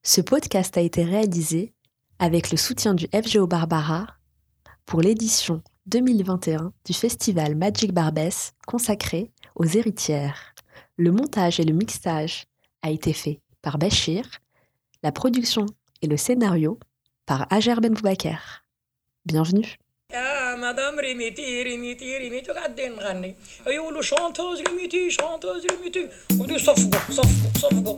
Ce podcast a été réalisé avec le soutien du FGO Barbara pour l'édition 2021 du festival Magic Barbès consacré aux héritières. Le montage et le mixage a été fait par Bachir, la production et le scénario par Hajer Ben Boubaker. Bienvenue. يا مدام ريميتي قاعدين نغني يقولوا شونتوز ريميتي ودي صفقوا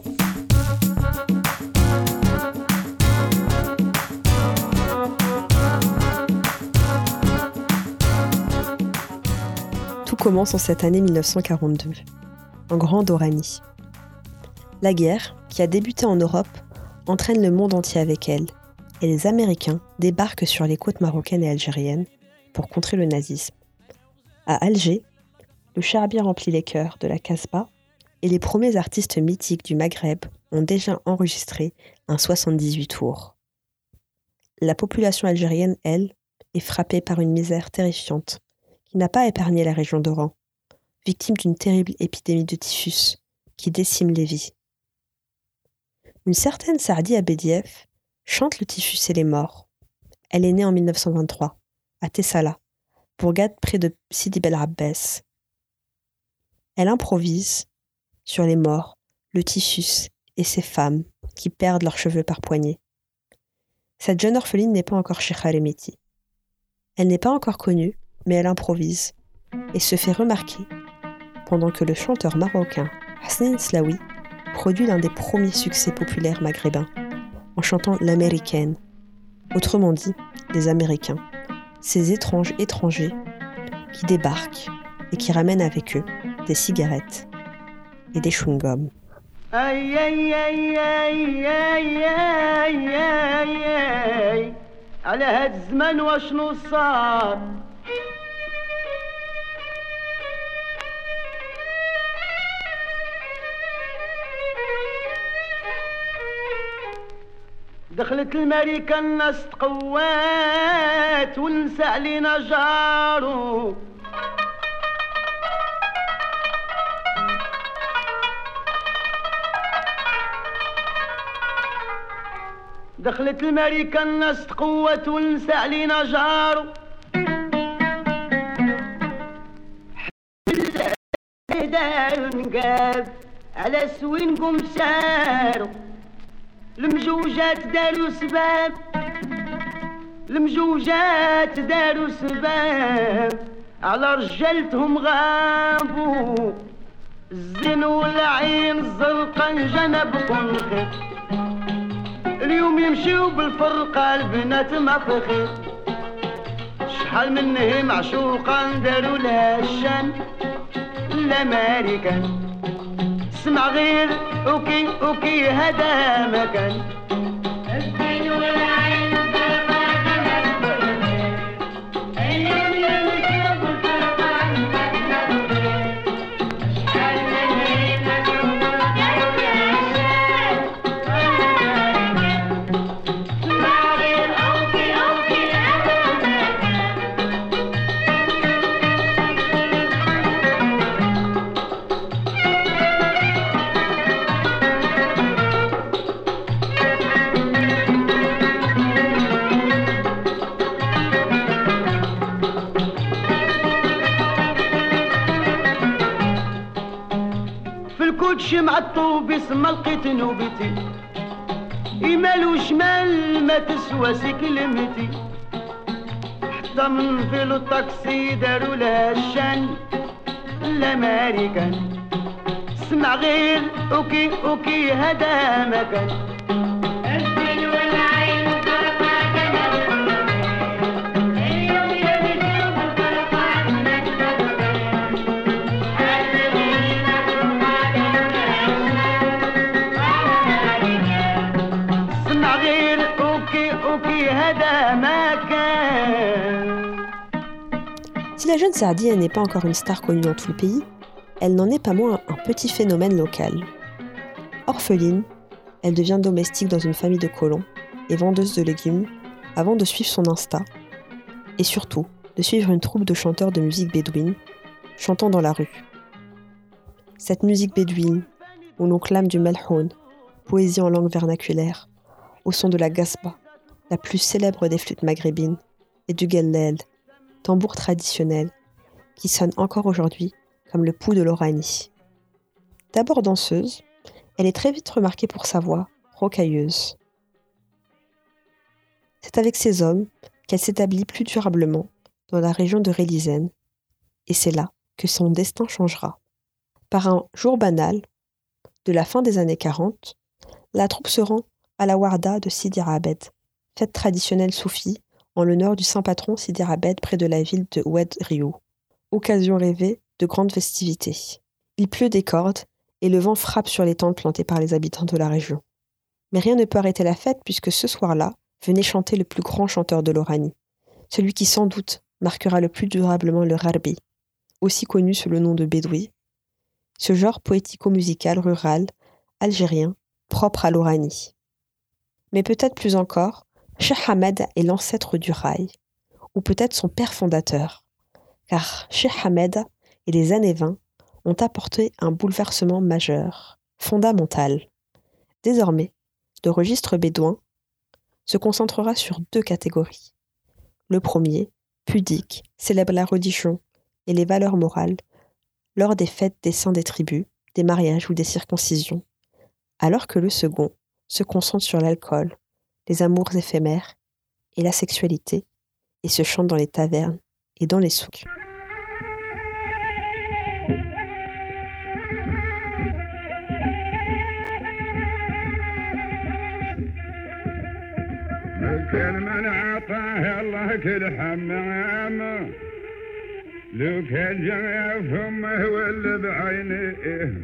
Tout commence en cette année 1942, en Grande Oranie. La guerre, qui a débuté en Europe, entraîne le monde entier avec elle, et les Américains débarquent sur les côtes marocaines et algériennes pour contrer le nazisme. À Alger, le charabia remplit les chœurs de la Casbah et les premiers artistes mythiques du Maghreb ont déjà enregistré un 78 tours. La population algérienne, elle, est frappée par une misère terrifiante qui n'a pas épargné la région d'Oran, victime d'une terrible épidémie de typhus qui décime les vies. Une certaine Saadi Abediev chante le typhus et les morts. Elle est née en 1923, à Tessala, bourgade près de Sidi Bel Abbès. Elle improvise sur les morts, le typhus et ces femmes qui perdent leurs cheveux par poignées. Cette jeune orpheline n'est pas encore Cheikha Remeti. Elle n'est pas encore connue, mais elle improvise et se fait remarquer pendant que le chanteur marocain Hassan Slaoui produit l'un des premiers succès populaires maghrébins en chantant l'américaine, autrement dit les Américains, ces étranges étrangers qui débarquent et qui ramènent avec eux des cigarettes et des chewing-gums. Aïe aïe aïe aïe aïe aïe aïe aïe على هاد الزمان واشنو صار دخلت الماريكا الناس تقوات والنساء علينا جارو دخلت الماريكا الناس تقوات والنساء علينا جارو دارو نقاب على سوين قوم سارو المجوجات داروا سباب المجوجات داروا سباب على رجالتهم غابوا الزين والعين الزرقاء جنبكم خير اليوم يمشيو بالفرقة البنات ما فخير شحال منهم معشوقا داروا لها الشان الامريكان اسمع غير اوكي هذا مكان الزين والعين شمع الطوب اسم لقيت نوبتي يمال وشمال ما تسوى كلمتي حتى من فيلو الطاكسي داروا لها الشان الامريكان اسمع غير اوكي هذا مكان الزين والعين Si la jeune Saadi n'est pas encore une star connue dans tout le pays, elle n'en est pas moins un petit phénomène local. Orpheline, elle devient domestique dans une famille de colons et vendeuse de légumes avant de suivre son Insta et surtout de suivre une troupe de chanteurs de musique bédouine chantant dans la rue. Cette musique bédouine, où l'on clame du melhoun, poésie en langue vernaculaire, au son de la gasba, la plus célèbre des flûtes maghrébines, et du gellel, tambour traditionnel, qui sonne encore aujourd'hui comme le pouls de l'Oranie. D'abord danseuse, elle est très vite remarquée pour sa voix rocailleuse. C'est avec ces hommes qu'elle s'établit plus durablement dans la région de Relizène, et c'est là que son destin changera. Par un jour banal, de la fin des années 40, la troupe se rend à la Warda de Sidi Rabed, fête traditionnelle soufie en l'honneur du saint patron Sidi Rabed près de la ville de Oued Rio. Occasion rêvée de grandes festivités. Il pleut des cordes et le vent frappe sur les tentes plantées par les habitants de la région. Mais rien ne peut arrêter la fête puisque ce soir-là venait chanter le plus grand chanteur de l'Oranie, celui qui sans doute marquera le plus durablement le Rarbi, aussi connu sous le nom de Bédoui, ce genre poético-musical rural, algérien, propre à l'Oranie. Mais peut-être plus encore, Cheikh Ahmed est l'ancêtre du rail, ou peut-être son père fondateur, car Cheikh Ahmed et les années 20 ont apporté un bouleversement majeur, fondamental. Désormais, le registre bédouin se concentrera sur 2 catégories. Le premier, pudique, célèbre la religion et les valeurs morales lors des fêtes des saints des tribus, des mariages ou des circoncisions, alors que le second se concentre sur l'alcool, les amours éphémères et la sexualité, et se chante dans les tavernes et dans les souks. كل من عطاه الله كل حمام لو كان جاء فمه ولا بعينه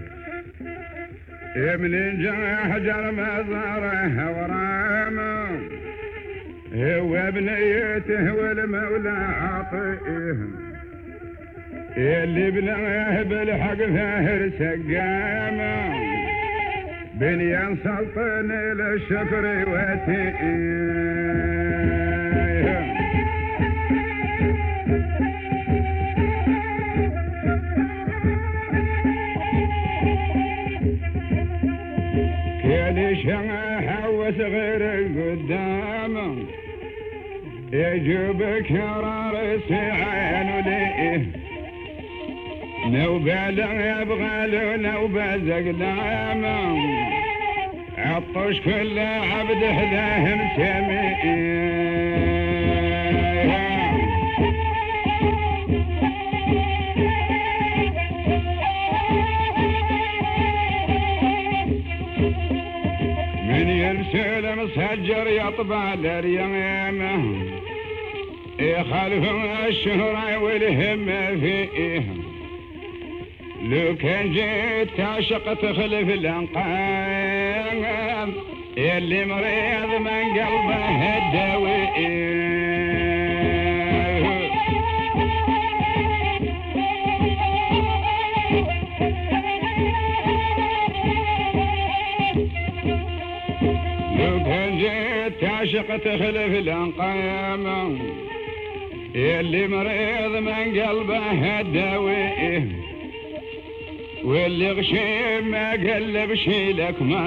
من جاء حجر مزاره ورامه هو بنيته والمولى عطيه اللي بناه بالحق فاهر سقامه بنيان سلطان للشكر واتيه كل شمعة وصغير قدامه يجيب كرار سعان وليه نوبة لا يبغى له نوبة زقدامه عطش كل عبد حذاه مسمي من يرسل مسجر يطبع لليمامه يخالف الشهرة والهم فيه لو كان جيت تعشق تخلف الانقام يلي مريض من قلبه الدواء لو كان جيت تعشق تخلف الانقام يلي مريض من قلبه الدواء واللي غشيم ما قلبش لك ما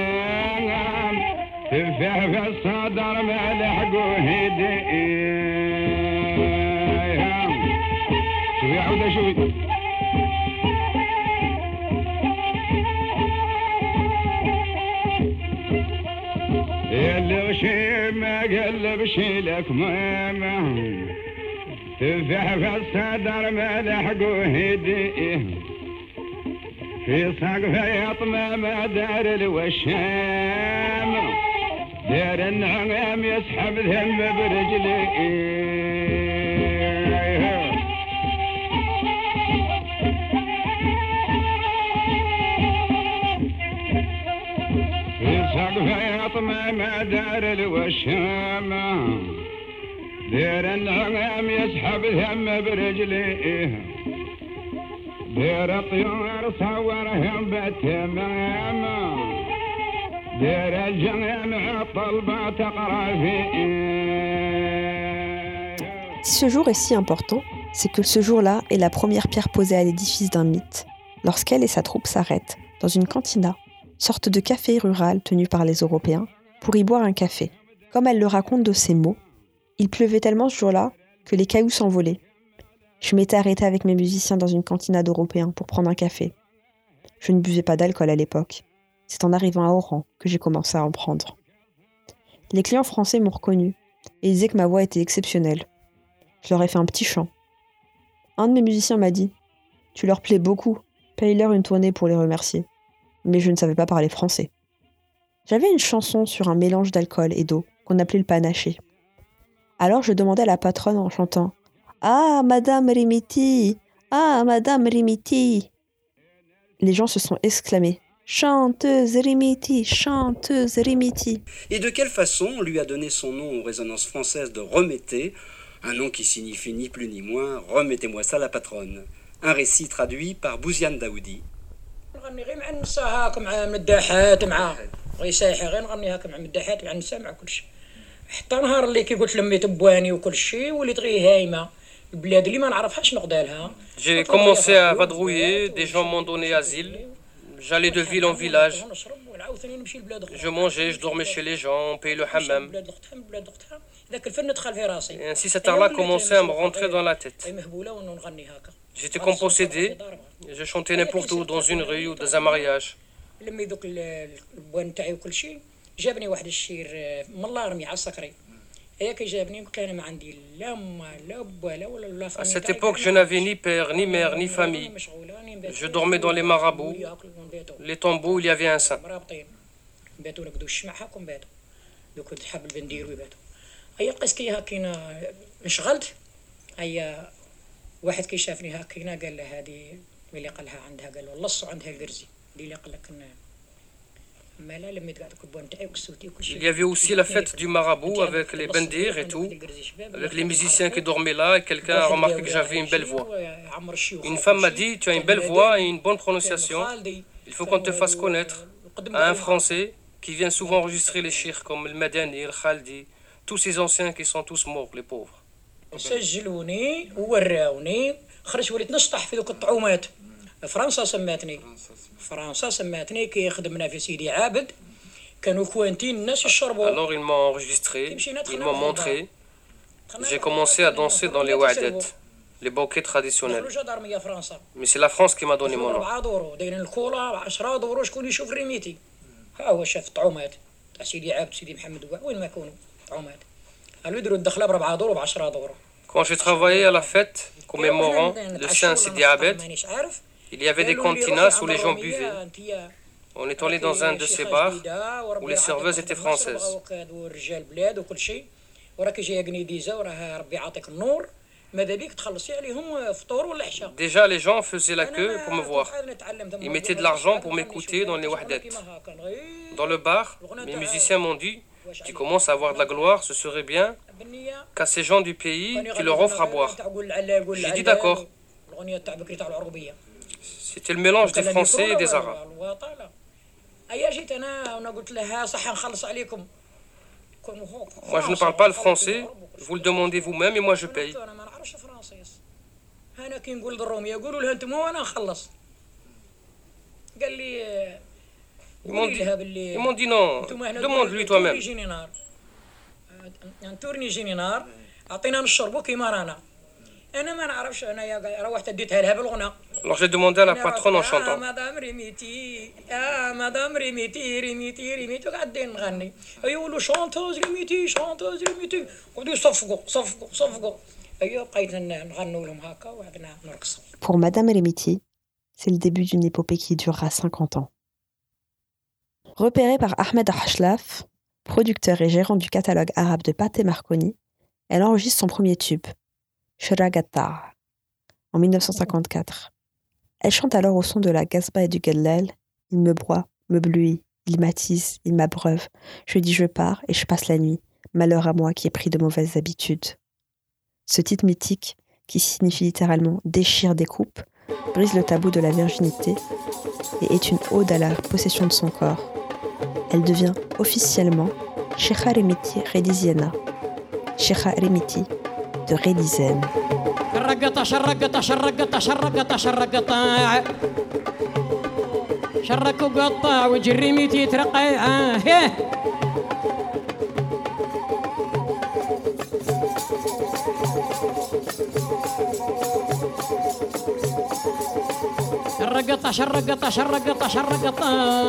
تفاه في الصدر ما لحقوه يدي شوي عودة شوي اللي غشيم ما قلبش لك ما تفاه في الصدر ما لحقوه يدي في سقف يطمى دار الوشام دار النعام يسحب ذم برجلي في سقف يطمى دار الوشام دار النعام يسحب ذم برجلي دير طيور صورهم بالتمام دير الجميع الطلبة تقرأ Si ce jour est si important, c'est que ce jour-là est la première pierre posée à l'édifice d'un mythe, lorsqu'elle et sa troupe s'arrêtent dans une cantina, sorte de café rural tenu par les Européens, pour y boire un café. Comme elle le raconte de ses mots, il pleuvait tellement ce jour-là que les cailloux s'envolaient. Je m'étais arrêtée avec mes musiciens dans une cantinade européenne pour prendre un café. Je ne buvais pas d'alcool à l'époque. C'est en arrivant à Oran que j'ai commencé à en prendre. Les clients français m'ont reconnu et disaient que ma voix était exceptionnelle. Je leur ai fait un petit chant. Un de mes musiciens m'a dit « Tu leur plais beaucoup, paye-leur une tournée pour les remercier. » Mais je ne savais pas parler français. J'avais une chanson sur un mélange d'alcool et d'eau qu'on appelait le panaché. Alors je demandais à la patronne en chantant « Ah, Madame Rimiti! Ah, Madame Rimiti !» Les gens se sont exclamés « Chanteuse Rimiti! Chanteuse Rimiti !» Et de quelle façon on lui a donné son nom aux résonances françaises de Remettez, un nom qui signifie ni plus ni moins « Remettez-moi ça la patronne ». Un récit traduit par Bouziane Daoudi. نغني غير مع النساء هاك مع مداحات مع غيساحي غير نغني هاك مع مداحات مع النساء مع كل شيء حتى نهار اللي كي قلت لميت بواني وكل شيء وليت غير هايمه البلاد اللي ما نعرفهاش نقدا لها. J'ai commencé à vadrouiller, des gens m'ont donné asile. J'allais de ville en village. Je mangeais, je dormais chez les gens, on payait le hammam. Et ainsi cet art-là commençait à me rentrer dans la tête. J'étais comme possédé, et je chantais n'importe où, dans une rue ou dans un mariage. À cette époque, je n'avais ni père, ni mère, ni famille. Je dormais dans les marabouts, les tombeaux où il y avait un saint. واحد كي شافني هكينا قال له هذه ملي قالها عندها قال له لصوا عندها القرزي اللي قال لك ما لا لميت قاعد الكبوه نتاعي وكسوتي وكل شيء. Il y avait aussi la fête du marabout avec les bendirs et tout, avec les musiciens qui dormaient là, et quelqu'un a remarqué que j'avais une belle voix. Une femme m'a dit tu as une belle voix et une bonne prononciation, il faut qu'on te fasse connaître à un Français qui vient souvent enregistrer les chirs comme le Madani, le Khaldi, tous ces anciens qui sont tous morts, les pauvres. سجلوني ووراوني خرجت وليت نشطح في ذوك الطعومات. فرنسا سماتني كي خدمنا في سيدي عابد كانوا كوانتين الناس يشربوا. Alors ils m'ont enregistré, ils m'ont montré. J'ai commencé à danser dans les wa'adet, les banquets traditionnels. Mais c'est la France qui m'a donné mon nom. 4 دورو دايرين الكولا 10 دورو شكون يشوف ريميتي ها هو شاف الطعومات تاع سيدي عابد سيدي محمد وين ما يكونوا طعومات قالوا يديروا الدخله ب4 دورو ب10 دورو. Quand j'ai travaillé à la fête commémorant le Saint Sidi Abed, il y avait des cantinas où les gens buvaient. On est allé dans un de ces bars où les serveuses étaient françaises. Déjà, les gens faisaient la queue pour me voir. Ils mettaient de l'argent pour m'écouter dans les wahdettes. Dans le bar, mes musiciens m'ont dit « Tu commences à avoir de la gloire, ce serait bien qu'à ces gens du pays, tu leur offres à boire. » J'ai dit d'accord. C'était le mélange des Français et des Arabes. Moi, je ne parle pas le français, vous le demandez vous-même et moi je paye. Ils m'ont dit non, demande-lui toi-même. Alors j'ai demandé à la patronne en chantant. Pour Madame Rimiti, c'est le début d'une épopée qui durera 50 ans. Repérée par Ahmed Hashlaf, producteur et gérant du catalogue arabe de Pathé Marconi, elle enregistre son premier tube, Shragata, en 1954. Elle chante alors au son de la Gasba et du Gellel. Il me broie, me bluit, il m'attise, il m'abreuve. Je dis je pars et je passe la nuit. Malheur à moi qui ai pris de mauvaises habitudes. Ce titre mythique, qui signifie littéralement déchire des coupes, brise le tabou de la virginité et est une ode à la possession de son corps. Elle devient officiellement Cheikha Rimiti Rediziana, Cheikha Rimiti de Redizen. شرقطة شرقطة شرقطة شرقطة شرقطة شرك وقطع وجري ميتي ترقع شرقطة شرقطة شرقطة شرقطة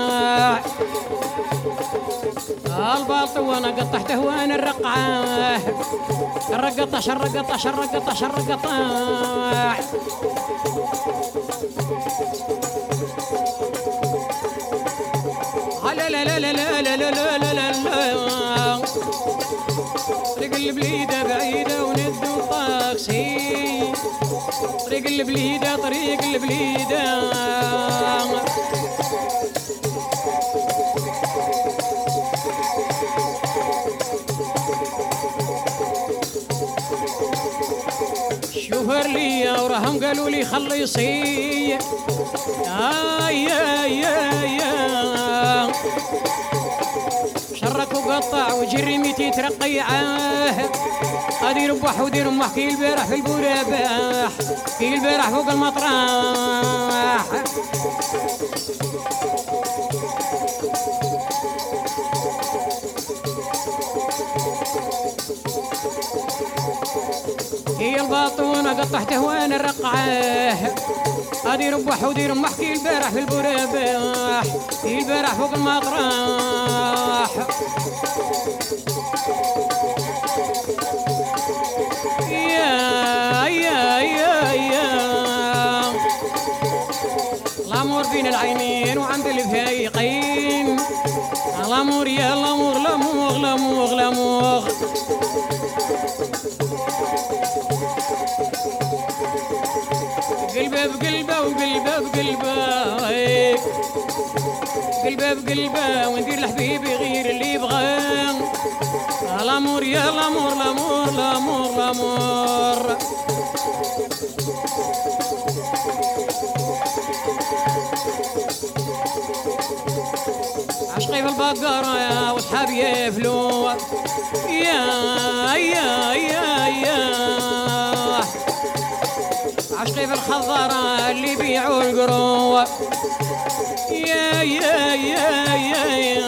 الباطو وانا قطعته وانا الرقعة شرقطة شرقطة شرقطة شرقطة لا لا لا لا لا لا لا لا لا لا طريق البليدة بعيدة وندو طاكسي طريق البليدة طريق البليدة شوفر لي وراهم قالوا لي خلصي يا شرك وقطع وجري ميتي ترقيعه غادي يربح ودير امح كي البارح في البوراباح كي البارح فوق المطرح هي الباطونة قطعته وانا الرقعه غادي يربح ودير امح كي البارح في البوراباح كي البارح فوق المطرح يا الامور بين العينين وعند الفايقين الامور يا الامور لاموغ لاموغ لاموغ قلبه بقلبه وقلبه بقلبه قلبه بقلبه وندير لحبيبي غير اللي يبغاه الامور يا الامور الامور الامور الامور عشقي في البقرة يا وصحابي يفلو يا عشقي في الخضرة اللي يبيعوا القرو يا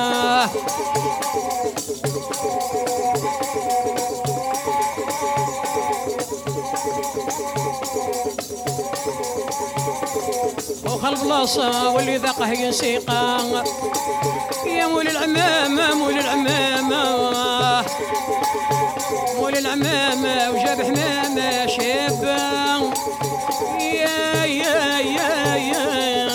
وخل بلاصة واللي ذاقه ينسيقا يا مول العمامة مول العمامة مول العمامة وجاب حمامة شابة يا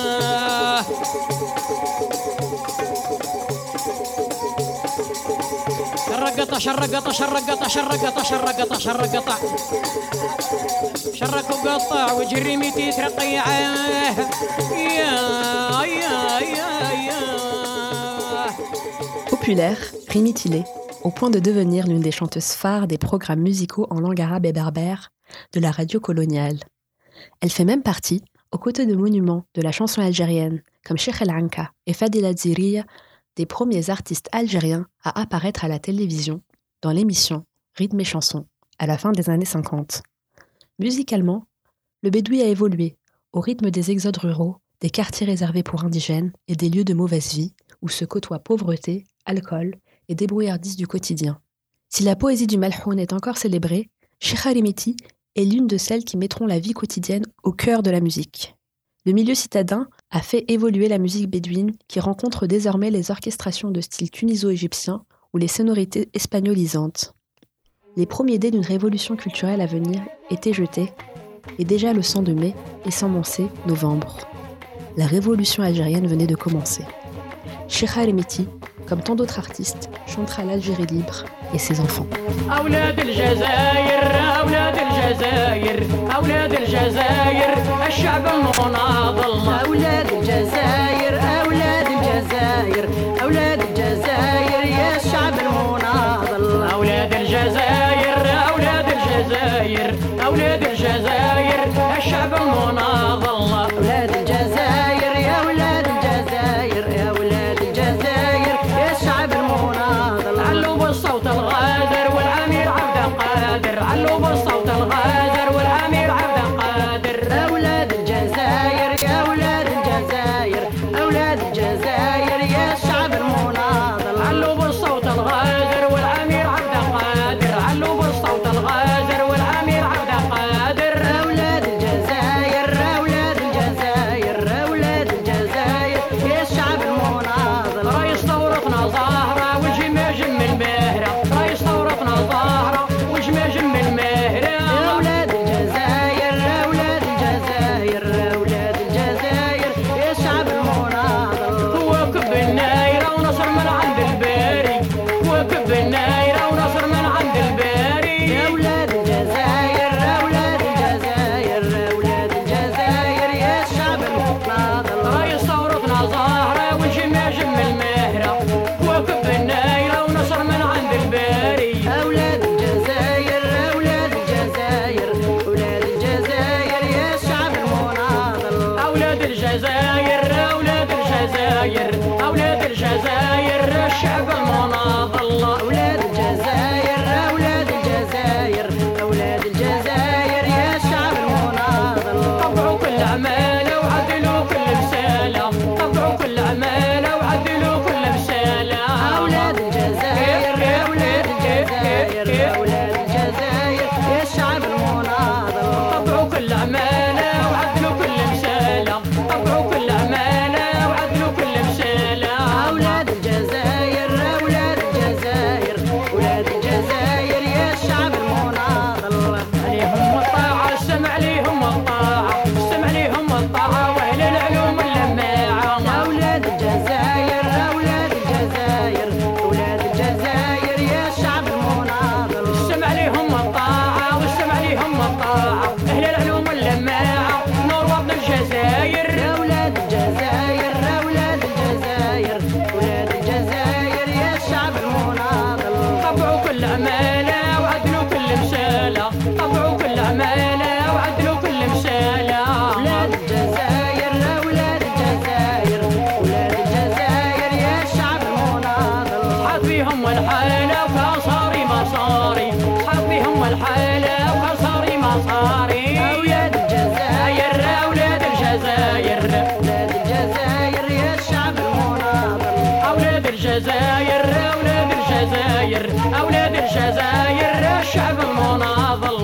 شرقطة شرقطة شرقطة شرقطة شرقطة شرقطة شرك وقطع وجري ميتي ترقيعه Populaire, Rimi Tillet, au point de devenir l'une des chanteuses phares des programmes musicaux en langue arabe et berbère de la radio coloniale. Elle fait même partie, aux côtés de monuments de la chanson algérienne comme Cheikh El Anka et Fadila Dziriya, des premiers artistes algériens à apparaître à la télévision dans l'émission Rythme et chansons à la fin des années 50. Musicalement, le bédoui a évolué au rythme des exodes ruraux, des quartiers réservés pour indigènes et des lieux de mauvaise vie où se côtoient pauvreté, alcool et débrouillardise du quotidien. Si la poésie du Malhoun est encore célébrée, Cheikha Rimiti est l'une de celles qui mettront la vie quotidienne au cœur de la musique. Le milieu citadin a fait évoluer la musique bédouine qui rencontre désormais les orchestrations de style tuniso-égyptien ou les sonorités espagnolisantes. Les premiers dés d'une révolution culturelle à venir étaient jetés, et déjà le sang de mai et s'emmençait novembre. La révolution algérienne venait de commencer. Cheikha Rimiti, comme tant d'autres artistes, chantera l'Algérie libre et ses enfants. أولاد الجزائر أولاد الجزائر أولاد الجزائر الشعب المناضل أولاد الجزائر أولاد الجزائر أولاد الجزائر يا الشعب المناضل أولاد الجزائر أولاد الجزائر أولاد الجزائر الشعب المناضل أولاد الجزائر يا أولاد الجزائر يا أولاد الجزائر يا الشعب المناضل علوا بالصوت الغادر والأمير عبد القادر علوا بالصوت الغادر والأمير عبد القادر أولاد الجزائر يا أولاد الجزائر أولاد الجزائر يا الشعب المناضل عمالة وعدلوا كل مسالة طبعوا كل عمالة وعدلوا كل مسالة ولاد الجزائر ولاد الجزائر ولاد الجزائر يا الشعب المناضل صحاب فيهم الحالة وكساري مصاري صحاب فيهم الحالة وكساري مصاري ولاد الجزائر ولاد الجزائر ولاد الجزائر يا الشعب المناضل أولاد الجزائر أولاد الجزائر أولاد الجزائر الشعب المناضل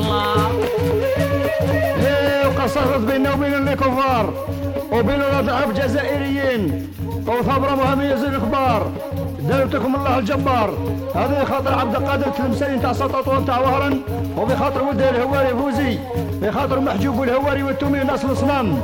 وقصرت بيننا وبين الكفار وبين الأضعاف الجزائريين وثبرة مهمية الكبار دارتكم الله الجبار. هذا بخاطر عبد القادر التلمساني تاع سطوطون تاع وهران وبخاطر ولده الهواري فوزي بخاطر محجوب الهواري والتومي ناس الصنام.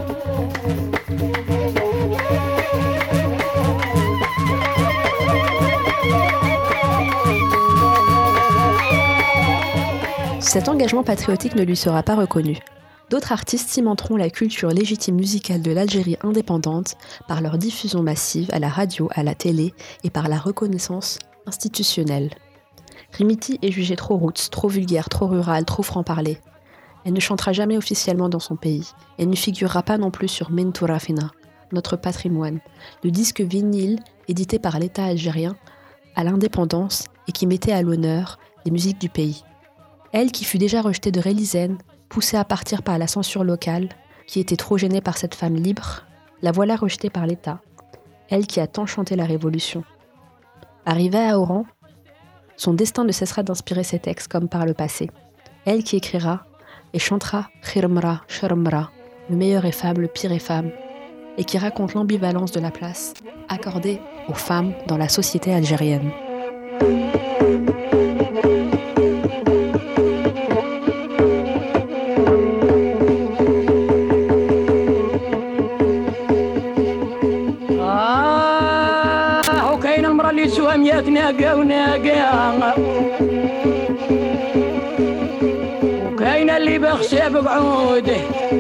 Cet engagement patriotique ne lui sera pas reconnu. D'autres artistes cimenteront la culture légitime musicale de l'Algérie indépendante par leur diffusion massive à la radio, à la télé et par la reconnaissance institutionnelle. Rimiti est jugée trop roots, trop vulgaire, trop rurale, trop franc-parler. Elle ne chantera jamais officiellement dans son pays. Elle ne figurera pas non plus sur Mentourafina, notre patrimoine, le disque vinyle édité par l'État algérien à l'indépendance et qui mettait à l'honneur les musiques du pays. Elle qui fut déjà rejetée de Relisen, poussée à partir par la censure locale, qui était trop gênée par cette femme libre, la voilà rejetée par l'État. Elle qui a tant chanté la Révolution. Arrivée à Oran, son destin ne cessera d'inspirer ses textes comme par le passé. Elle qui écrira et chantera Khirmra, Sharmra, le meilleur est femme, le pire est femme, et qui raconte l'ambivalence de la place accordée aux femmes dans la société algérienne. سواميات ناقة وناقة وكاين اللي بخشى بقعوده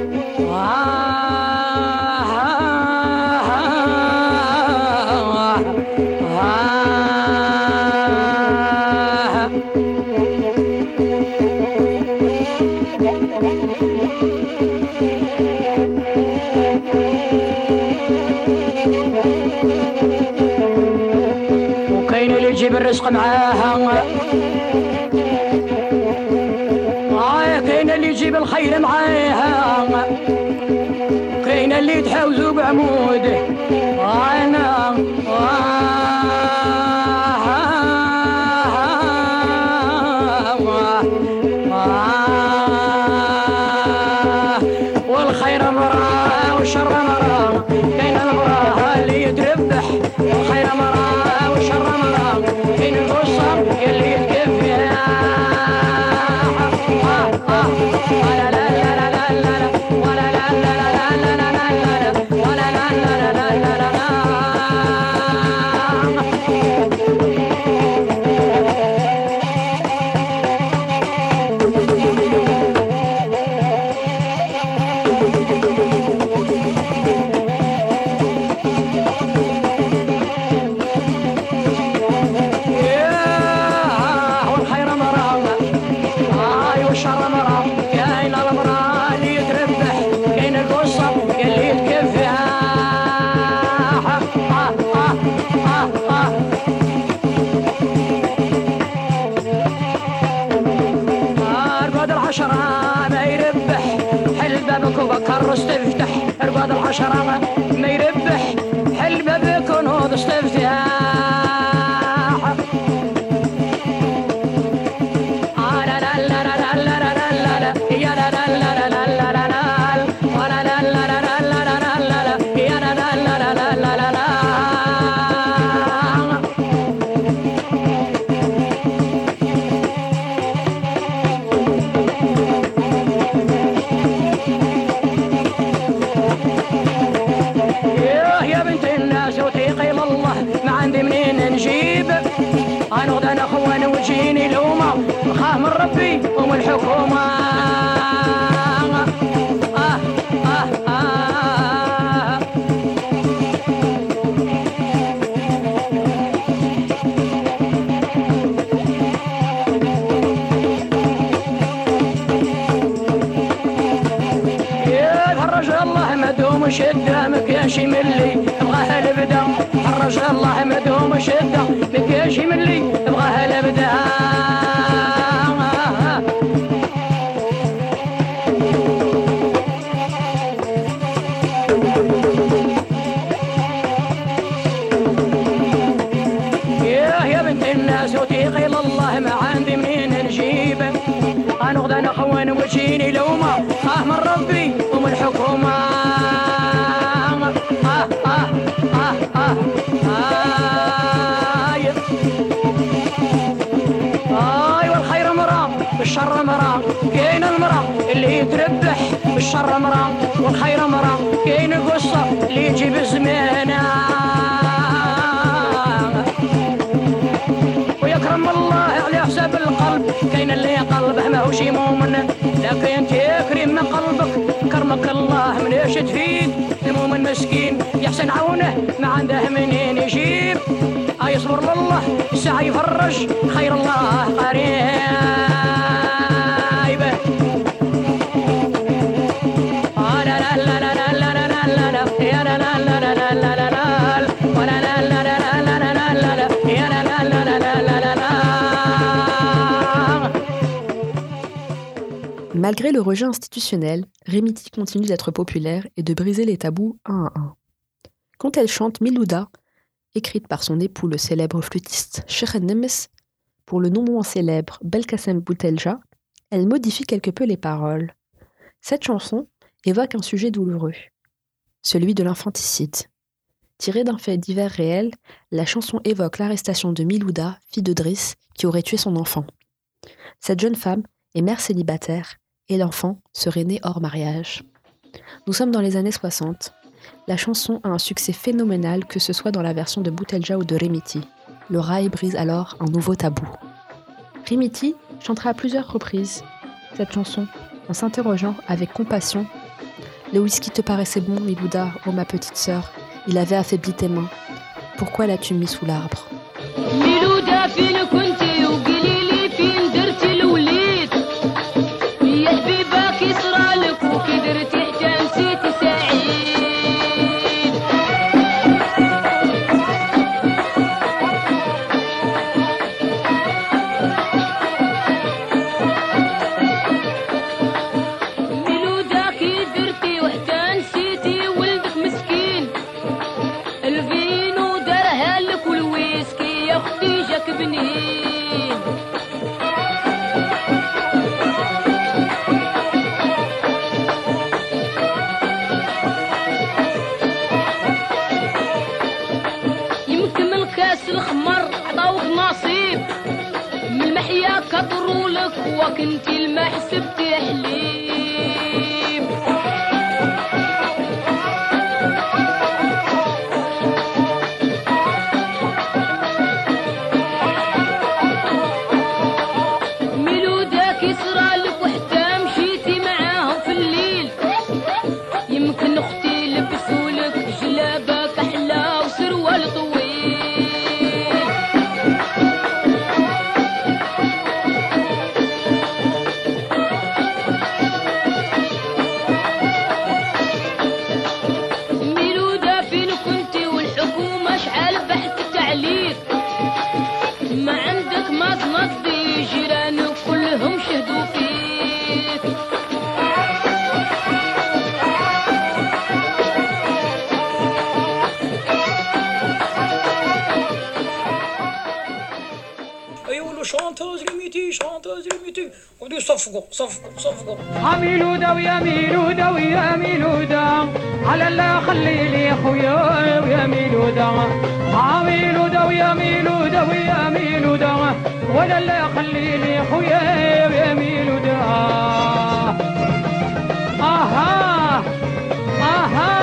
يجيب الرزق معاها كاين اللي يجيب الخير معاها كاين اللي يتحاوزوا بعموده انا والخير مراه والشر مراه كاين المراه اللي يتربح والخير مراه والشر مراه كاين القصر يلي يتكفي لا لا لا لا لا لا ولا لا لا لا لا لا لا ولا لا لا لا لا لا استفتح ارقاد العشرة ما يربح حل بابك ونهض استفتاح لا لا لا لا لا لا لا لا يا لا لا لا لا لا لا لا ولا لا لا لا لا لا لا لا يا لا لا لا لا لا لا لا أنا أخوان وجيني لوما نخاف من ربي ومن الحكومة شدة مكياشي ملي بغاها البدا حرج الله مدوم شدة مكياشي ملي بغاها البدا يا بنت الناس وتيقي الله ما عندي منين نجيب انا غدا انا خوان وجيني لومه من ربي ومن الحكومه والخير مرا بالشر مرا كاين المرا اللي يتربح بالشر مرا والخير مرا كاين القصه اللي يجيب الزمانه ويكرم الله على حساب القلب كاين اللي قلبه ماهوش مؤمن لكن تكرم من قلبك كرمك الله من ايش تفيد المؤمن مسكين يحسن عونه ما عنده منين يجيب يصبر لله الساعة يفرج خير الله قريب لا لا لا لا لا لا لا لا لا يا لا لا لا لا لا لا لا ولا لا لا لا لا لا لا لا يا لا لا لا لا لا لا لا. Malgré le rejet institutionnel, Rémiti continue d'être populaire et de briser les tabous un à un. Quand elle chante Milouda, écrite par son époux le célèbre flûtiste Cheikh Nemes, pour le non moins célèbre Belkacem Boutelja, elle modifie quelque peu les paroles. Cette chanson évoque un sujet douloureux, celui de l'infanticide. Tirée d'un fait divers réel, la chanson évoque l'arrestation de Milouda, fille de Driss, qui aurait tué son enfant. Cette jeune femme est mère célibataire et l'enfant serait né hors mariage. Nous sommes dans les années 60. La chanson a un succès phénoménal, que ce soit dans la version de Boutelja ou de Rémiti. Le rail brise alors un nouveau tabou. Rémiti chantera à plusieurs reprises cette chanson en s'interrogeant avec compassion. Le whisky te paraissait bon, Milouda, oh ma petite sœur, il avait affaibli tes mains. Pourquoi l'as-tu mis sous l'arbre? Milouda, fine kunti وقليلي فين درتي الوليد يا حبيبه كي صرالك وكي درتي حتى نسيتي سعيد ميلودا كي درتي وحتى نسيتي ولدك مسكين الفينو دارها لك والويسكي يا اختي جاك بنين يمكن من كاس الخمر عطاوك نصيب من المحيا كضرولك وكنتي الما حسبتي حليب ميلودا كي صرالك وحتى مشيتي معاهم في الليل يمكن اختي لبسولك جلابك احلى وسروال طويل ميلودا فين كنتي والحكومة شحال بحثت عليك ما عندك ما تنضي جيرانك كلهم شهدوا فيك يقولوا شانتوز ريميتي ودي صفقوا ميلودا ويا ميلودا ويا ميلودا على الله خلي لي خويا ويا ميلودا ميلودا ويا ميلودا ويا ميلودا ولا الله خلي لي خويا ويا ميلودا اها اها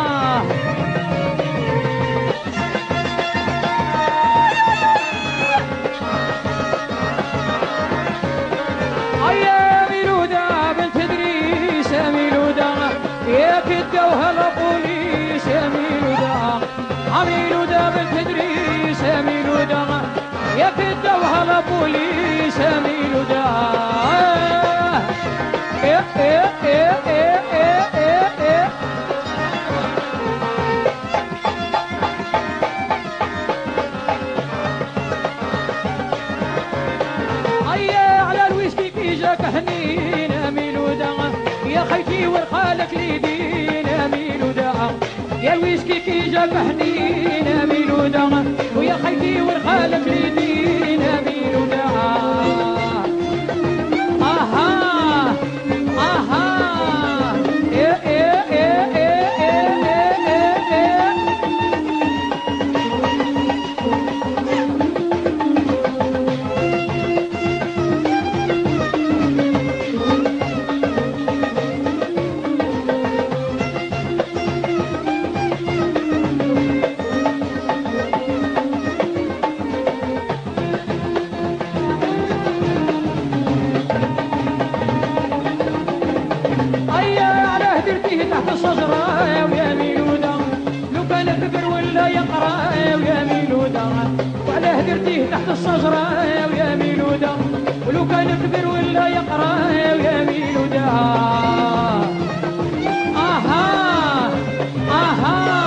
يا ميلودا بنت ادريس يا ميلودا يا كدوها البوليس يا ميلودا ميلودا بنت ادريس يا ميلودا يا كدوها البوليس يا ميلودا جاك حنين ميلودا يا خيتي ورخالك ليدينا ميلودا يا الويسكي كي جاك حنين ميلودا ويا خيتي ورخالك ليدينا ميلودا اها اها ايه ايه ايه ايه ايه ايه تحت الشجرة ويا ميلودا لو كان فكر ولا يقرا ويا ميلودا وعلاه درتيه تحت الشجرة ويا ميلودا ولو كان فكر ولا يقرا ويا ميلودا اها اها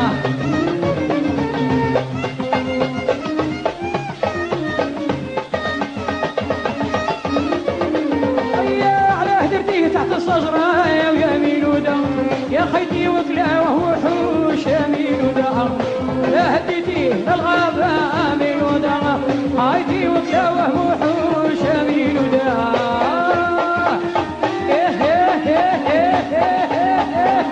ايا علاه درتيه تحت الشجرة ويا ميلودا يا خيتي وكلا وهو حوش يا ميلودا لا هديتيه للغابة ميلودا خيتي وكلا وهو حوش يا ميلودا إيه إيه إيه إيه إيه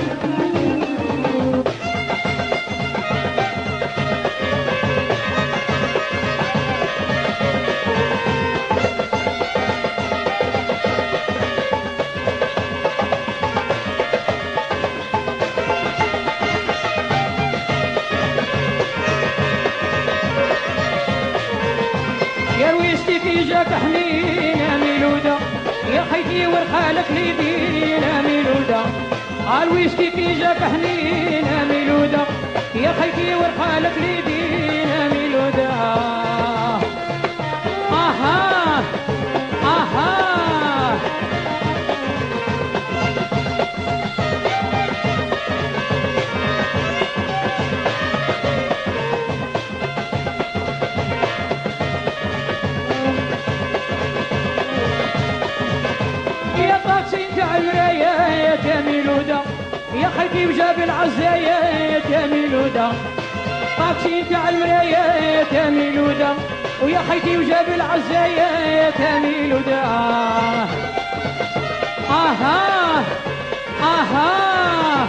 جاك حنين يا ميلودا يا خيتي ورخالك ليدين يا ميلودا الويسكي كي جاك حنين يا ميلودا يا خيتي ورخالك ليدين يا ميلودا اها اها يا ميلودا يا خيتي وجاب العزايات يا ميلودا طاكسي تاع المرايات يا ميلودا ويا خيتي وجاب العزايات يا ميلودا اها اها.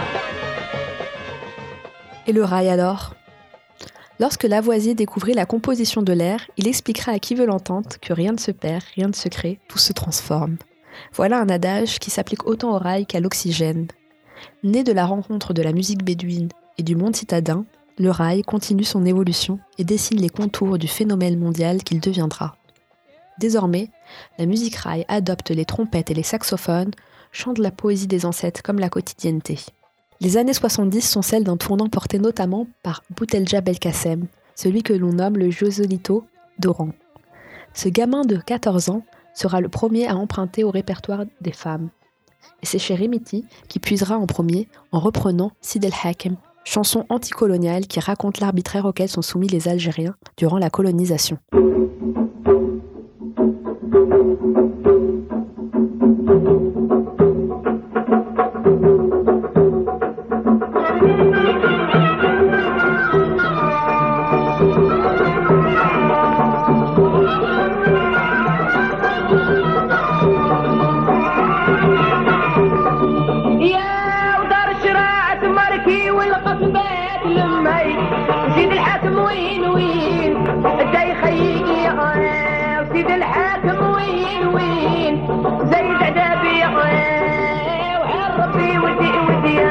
Et le rail alors ? Lorsque Lavoisier découvrit la composition de l'air, il expliquera à qui veut l'entendre que rien ne se perd, rien ne se crée, tout se transforme. Voilà un adage qui s'applique autant au rail qu'à l'oxygène. Né de la rencontre de la musique bédouine et du monde citadin, le rail continue son évolution et dessine les contours du phénomène mondial qu'il deviendra. Désormais, la musique rail adopte les trompettes et les saxophones, chante la poésie des ancêtres comme la quotidienneté. Les années 70 sont celles d'un tournant porté notamment par Boutelja Belkacem, celui que l'on nomme le Joselito d'Oran. Ce gamin de 14 ans sera le premier à emprunter au répertoire des femmes. Et c'est Cheremiti qui puisera en premier en reprenant Sid El Hakem, chanson anticoloniale qui raconte l'arbitraire auquel sont soumis les Algériens durant la colonisation. سيد الحاكم وين وين جاي خيقي سيد الحاكم وين وين زايد عذابي وعن ربي ودي ودي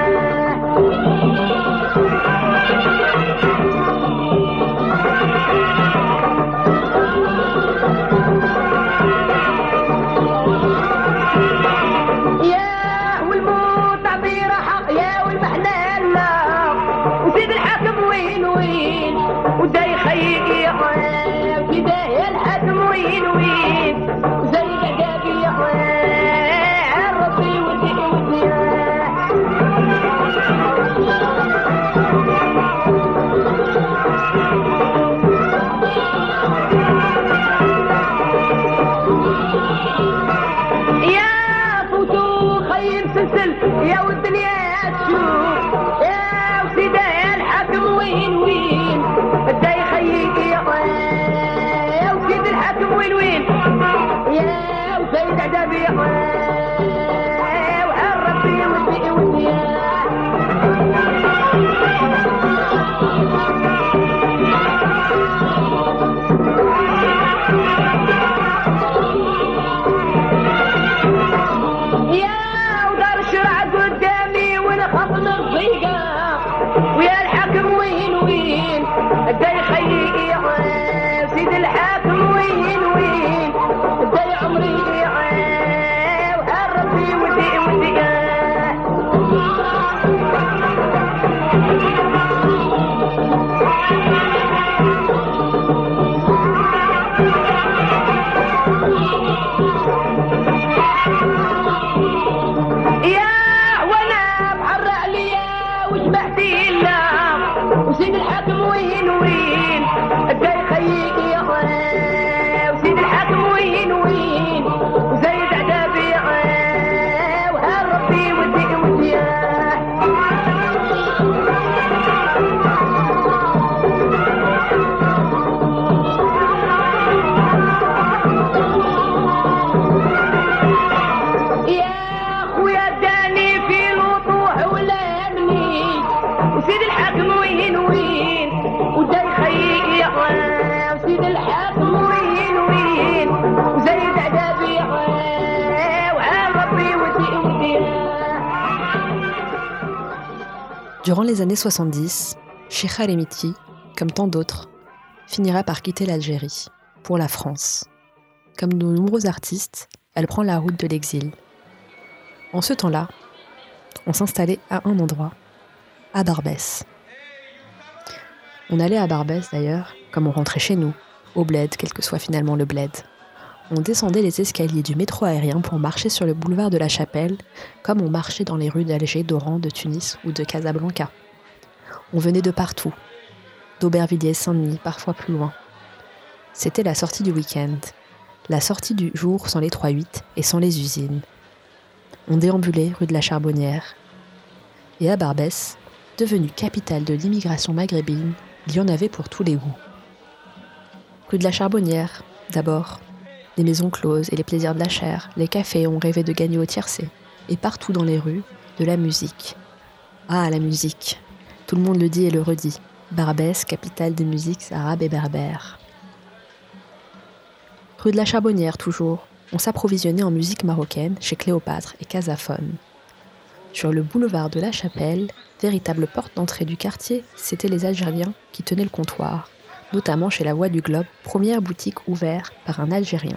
يا والموت عبير حق يا والمحلال وسيد الحاكم وين وين وداي خيقي كدا يا الحاكم وين وين زي عذابي عن ربي ودي ودي زعدا بيا وحال ربي ودي ودي ويا الحاكم وين وين بدا يخيي سيد الحاكم وين وين بدا عمري وحال ربي ودي ودي وسيد الحاكم وين وين بدا يخيي وسيد الحاكم وين وين وزايد عذابي وحال ربي ودي ودي يا خويا داني في الوضوح ولا يمني وسيد الحاكم وين وين ودا يخيي وسيد الحاكم وين وين وزايد عذابي وعال ربي ودي ودي. Durant les années 70, Cheikha El Miti, comme tant d'autres, finira par quitter l'Algérie, pour la France. Comme de nombreux artistes, elle prend la route de l'exil. En ce temps-là, on s'installait à un endroit, à Barbès. On allait à Barbès d'ailleurs, comme on rentrait chez nous, au bled, quel que soit finalement le bled. On descendait les escaliers du métro aérien pour marcher sur le boulevard de la Chapelle, comme on marchait dans les rues d'Alger, d'Oran, de Tunis ou de Casablanca. On venait de partout, d'Aubervilliers, Saint-Denis, parfois plus loin. C'était la sortie du week-end, la sortie du jour sans les 3-8 et sans les usines. On déambulait rue de la Charbonnière. Et à Barbès, devenue capitale de l'immigration maghrébine, il y en avait pour tous les goûts. Rue de la Charbonnière, d'abord, les maisons closes et les plaisirs de la chair, les cafés ont rêvé de gagner au tiercé, et partout dans les rues, de la musique. Ah, la musique, tout le monde le dit et le redit. Barbès, capitale des musiques arabes et berbères. Rue de la Charbonnière, toujours, on s'approvisionnait en musique marocaine chez Cléopâtre et Casaphone. Sur le boulevard de la Chapelle, véritable porte d'entrée du quartier, c'étaient les Algériens qui tenaient le comptoir, notamment chez la Voix du Globe, première boutique ouverte par un Algérien.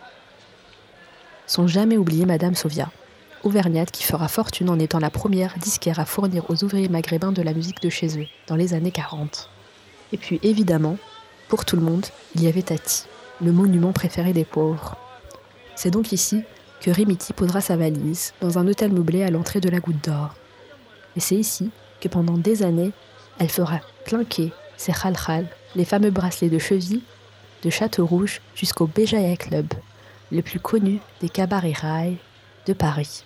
Sans jamais oublier Madame Sovia, auvergnate qui fera fortune en étant la première disquaire à fournir aux ouvriers maghrébins de la musique de chez eux, dans les années 40. Et puis évidemment, pour tout le monde, il y avait Tati, le monument préféré des pauvres. C'est donc ici que Rimiti posera sa valise dans un hôtel meublé à l'entrée de la Goutte d'Or. Et c'est ici que pendant des années, elle fera clinquer ses khalkhal, les fameux bracelets de cheville, de Château-Rouge jusqu'au Béjaïa Club, le plus connu des cabarets rails de Paris.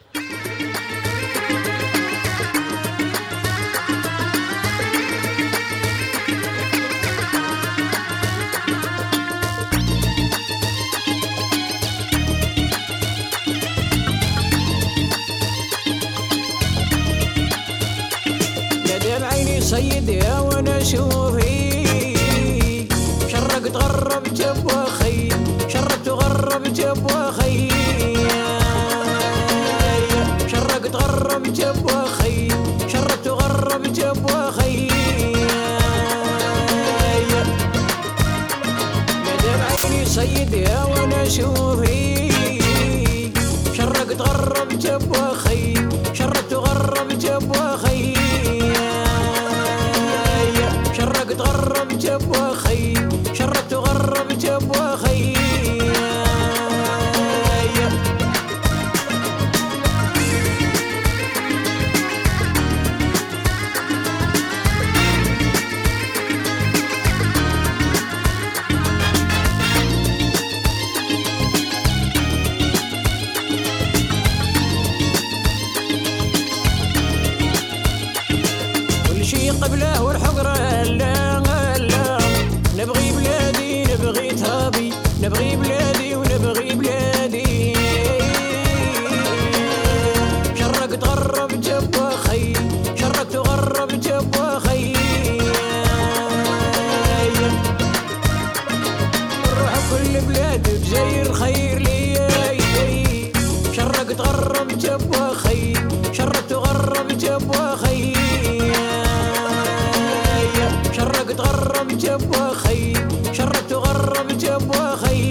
سيدي وانا شوفي شرقت غربت ابوخي شرقت وغربت ابوخي شرقت غربت ابوخي شرقت وغربت ابوخي مدام عيني سيدي وانا شوفي شرقت غربت ابوخي شرقت وغربت ابوخي شرقت غربت ابوخي شرقت وغربت ابوخي كل شي قبله والحقره نبغي بلادي نبغي ترابي نبغي بلادي ونبغي بلادي جزاير خير لي شرق تغرب جبوا خي شرق تغرب جبوا خي شرق تغرب جبوا خي شرق تغرب جبوا خي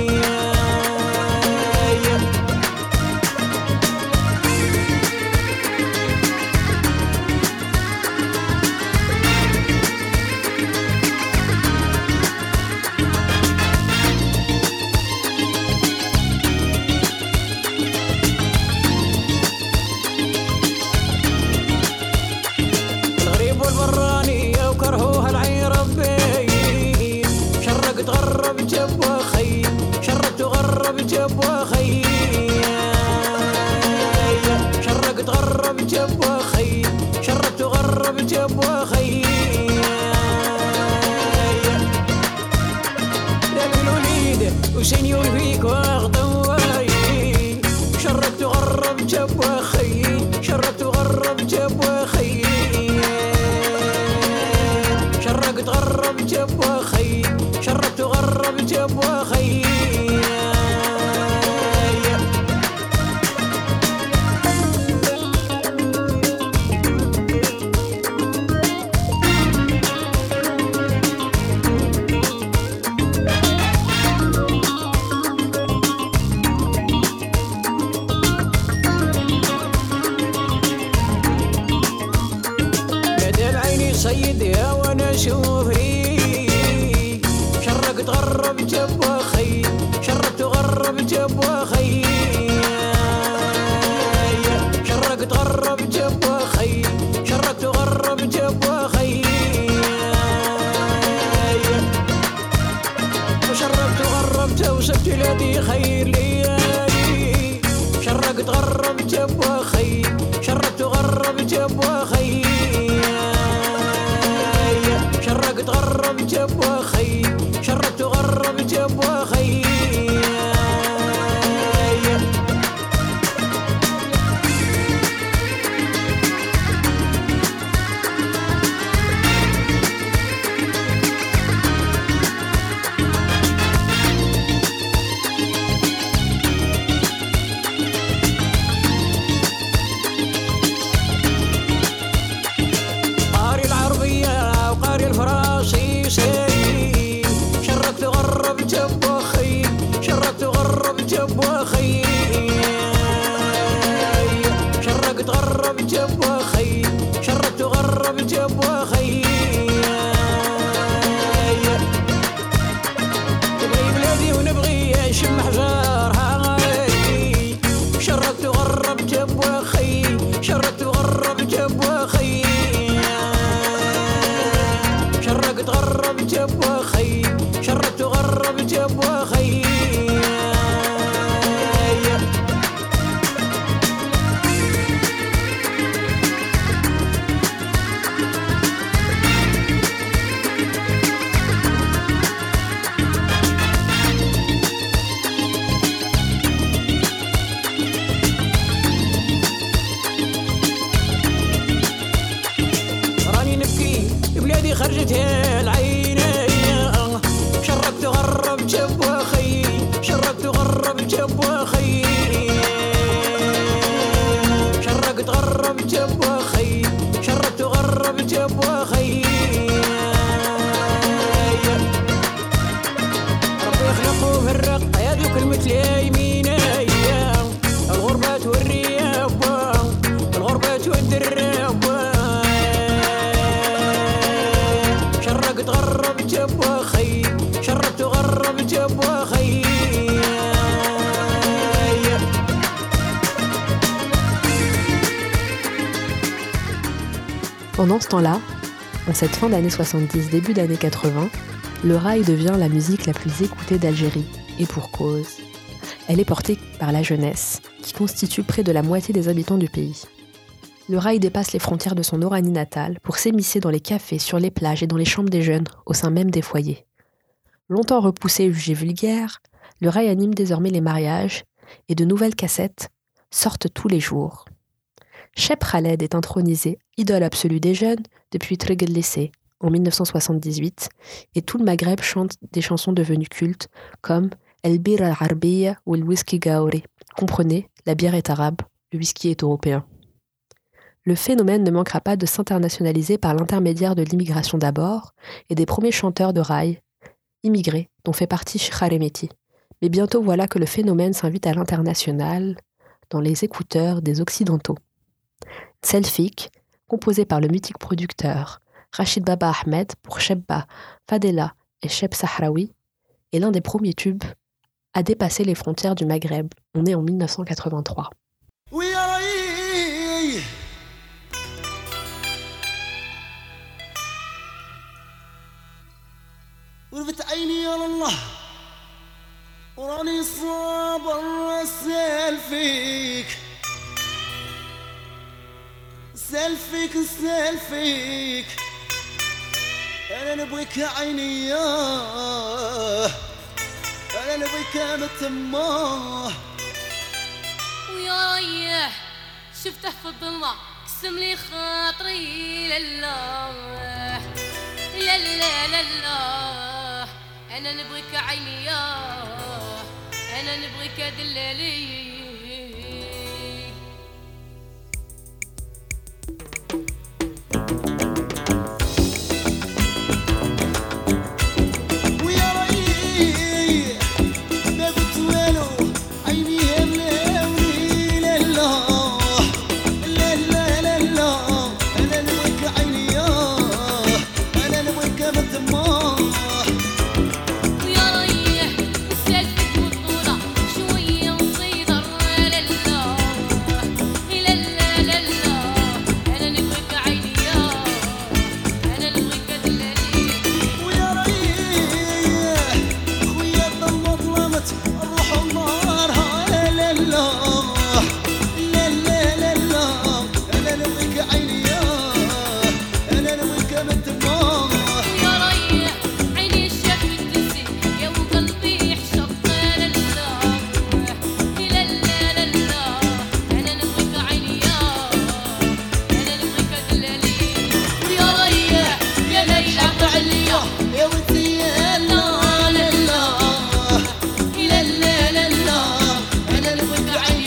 وسنيور فيك واغضواي شرك تغرب جبوا خي شرك تغرب جبوا خي شرك تغرب جبوا خي شرك تغرب جبوا خي سيد يا وانا شوفي شرق تغرب جبوا خي شرق تغرب جبوا خي شرق تغرب جبوا خي شرق تغرب جبوا خي وشرق تغرب توسبت لدي خير لي شرق تغرب جبوا خي شرق تغرب جبوا خي شرق تغرب جبوا خي شرق تغرب جبوا خي شرقت غرب جبوا خي شرقت غرب جبوا خي شرقت غرب جبوا خي شرقت غرب جبوا خي تبغي بلادي ونبغي نشم حجارها شرقت غرب جبوا خي شرقت غرب جبوا خي شرقت غرب جبوا خي شرقت غرب جبوا خي راني نبكي بلادي خرجت العين شرقت غرب جبوا خي شرقت غرب جبوا خي شرقت غرب جبوا خي شرقت غرب جبوا خي ربي يخلقوا في الرق يا ذو كلمة يميني الغربة والرياب الغربة والدراب شرقت غرب جبوا خي شرقت غرب جبوا خي Pendant ce temps-là, en cette fin d'année 70, début d'année 80, le rail devient la musique la plus écoutée d'Algérie, et pour cause. Elle est portée par la jeunesse, qui constitue près de la moitié des habitants du pays. Le rail dépasse les frontières de son Oranie natale pour s'émisser dans les cafés, sur les plages et dans les chambres des jeunes, au sein même des foyers. Longtemps repoussé et jugé vulgaire, le rail anime désormais les mariages et de nouvelles cassettes sortent tous les jours. Cheb Khaled est intronisé idole absolue des jeunes depuis Trigel Lycée en 1978 et tout le Maghreb chante des chansons devenues cultes comme El Birra Arabia ou le whisky Gauri. Comprenez, la bière est arabe, le whisky est européen. Le phénomène ne manquera pas de s'internationaliser par l'intermédiaire de l'immigration d'abord et des premiers chanteurs de raï, immigrés, dont fait partie Shkharemeti. Mais bientôt voilà que le phénomène s'invite à l'international, dans les écouteurs des Occidentaux. Selfik, composé par le mythique producteur Rachid Baba Ahmed pour Chebba, Fadela et Cheb Sahraoui, est l'un des premiers tubes à dépasser les frontières du Maghreb. On est en 1983. وربت عيني يا الله وراني صابر سالفيك سالفيك سالفيك انا نبغيك يا عيني انا نبغيك متماه ويا ريح شفته في الظلمة قسم لي خاطري لله لا لا لا لا أنا نبغيك عيني أنا نبغيك دلالي عيني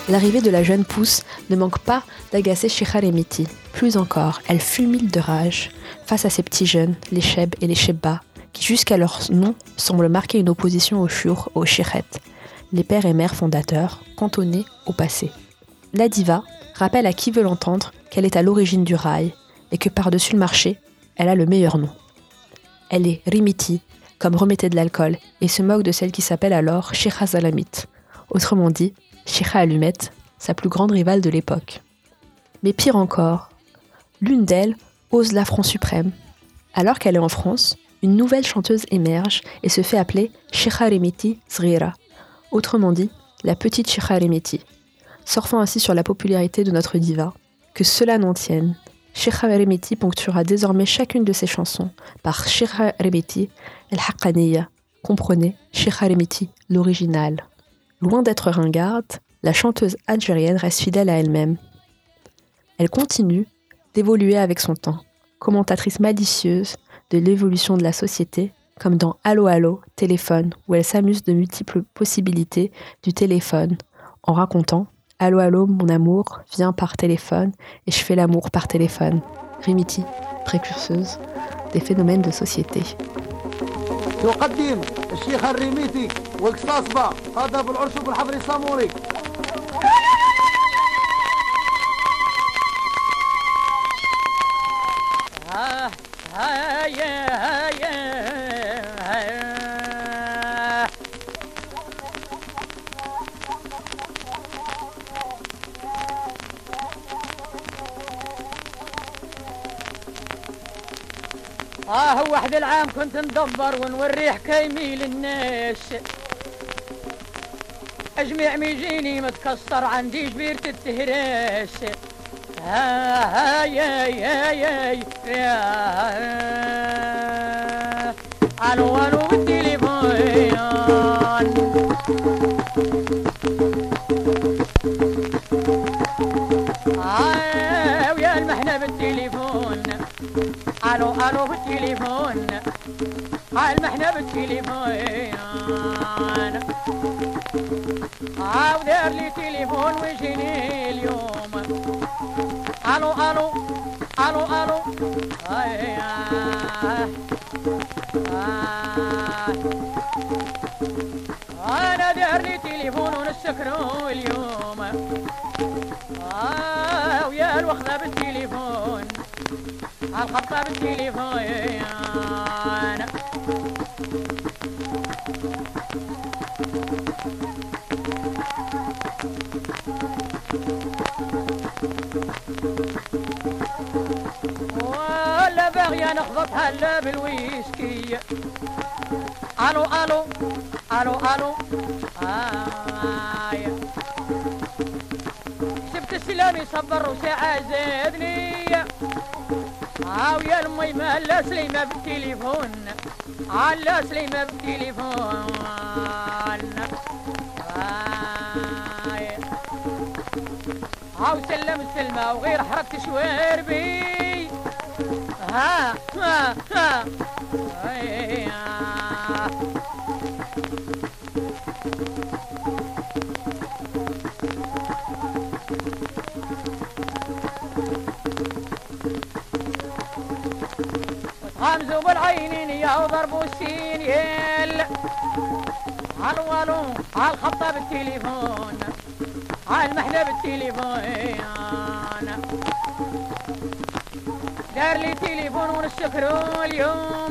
L'arrivée de la jeune pousse ne manque pas d'agacer Sheikha Remiti. Plus encore, elle fulmine de rage face à ces petits jeunes, les Cheb et les Chebba, qui jusqu'à leur nom semblent marquer une opposition aux Shur, aux Shirret, les pères et mères fondateurs, cantonnés au passé. La diva rappelle à qui veut l'entendre qu'elle est à l'origine du rail et que par-dessus le marché, elle a le meilleur nom. Elle est Rimiti, comme remettait de l'alcool, et se moque de celle qui s'appelle alors Sheikha Zalamit, autrement dit, Sheikha Allumette, sa plus grande rivale de l'époque. Mais pire encore, l'une d'elles ose l'affront suprême. Alors qu'elle est en France, une nouvelle chanteuse émerge et se fait appeler Sheikha Remiti Zrira, autrement dit, la petite Sheikha Remiti, surfant ainsi sur la popularité de notre diva. Que cela n'en tienne, Sheikha Remiti ponctuera désormais chacune de ses chansons par Sheikha Remiti el-Haqqaniya, comprenez Sheikha Remiti, l'original. Loin d'être ringarde, la chanteuse algérienne reste fidèle à elle-même. Elle continue d'évoluer avec son temps, commentatrice malicieuse de l'évolution de la société, comme dans Allo Allo, téléphone, où elle s'amuse de multiples possibilités du téléphone, en racontant « Allo Allo, mon amour, viens par téléphone, et je fais l'amour par téléphone ». Rimiti, précurseuse des phénomènes de société. تقدم الشيخ الريميتي والقصاصبة هذا بالعرش وبالحفر الصاموري هو واحد العام كنت ندبر ونوري حكايمي للناس اجمع ميجيني متكسر عندي جبيرة التهراس يا الو بالتليفون ويا المحنة بالتليفون الو بالتليفون المحنة بالتليفون ودار لي تليفون ويجيني اليوم الو انا دار لي تليفون ونسكرو اليوم ويا الوخذة بالتليفون الخطة بالتليفون ولا باغية نخبطها لا بالويسكي الو سبت السلام يصبر وساعة زادني ويا المي لا سليمة بالتليفون لا سليمة بالتليفون سلم السلمة وغير حركة شواربي ها غمزوا بالعينين يا وضربوا السينيل الو الخطة بالتليفون المحنة بالتليفون دار لي تليفون ونسكرو اليوم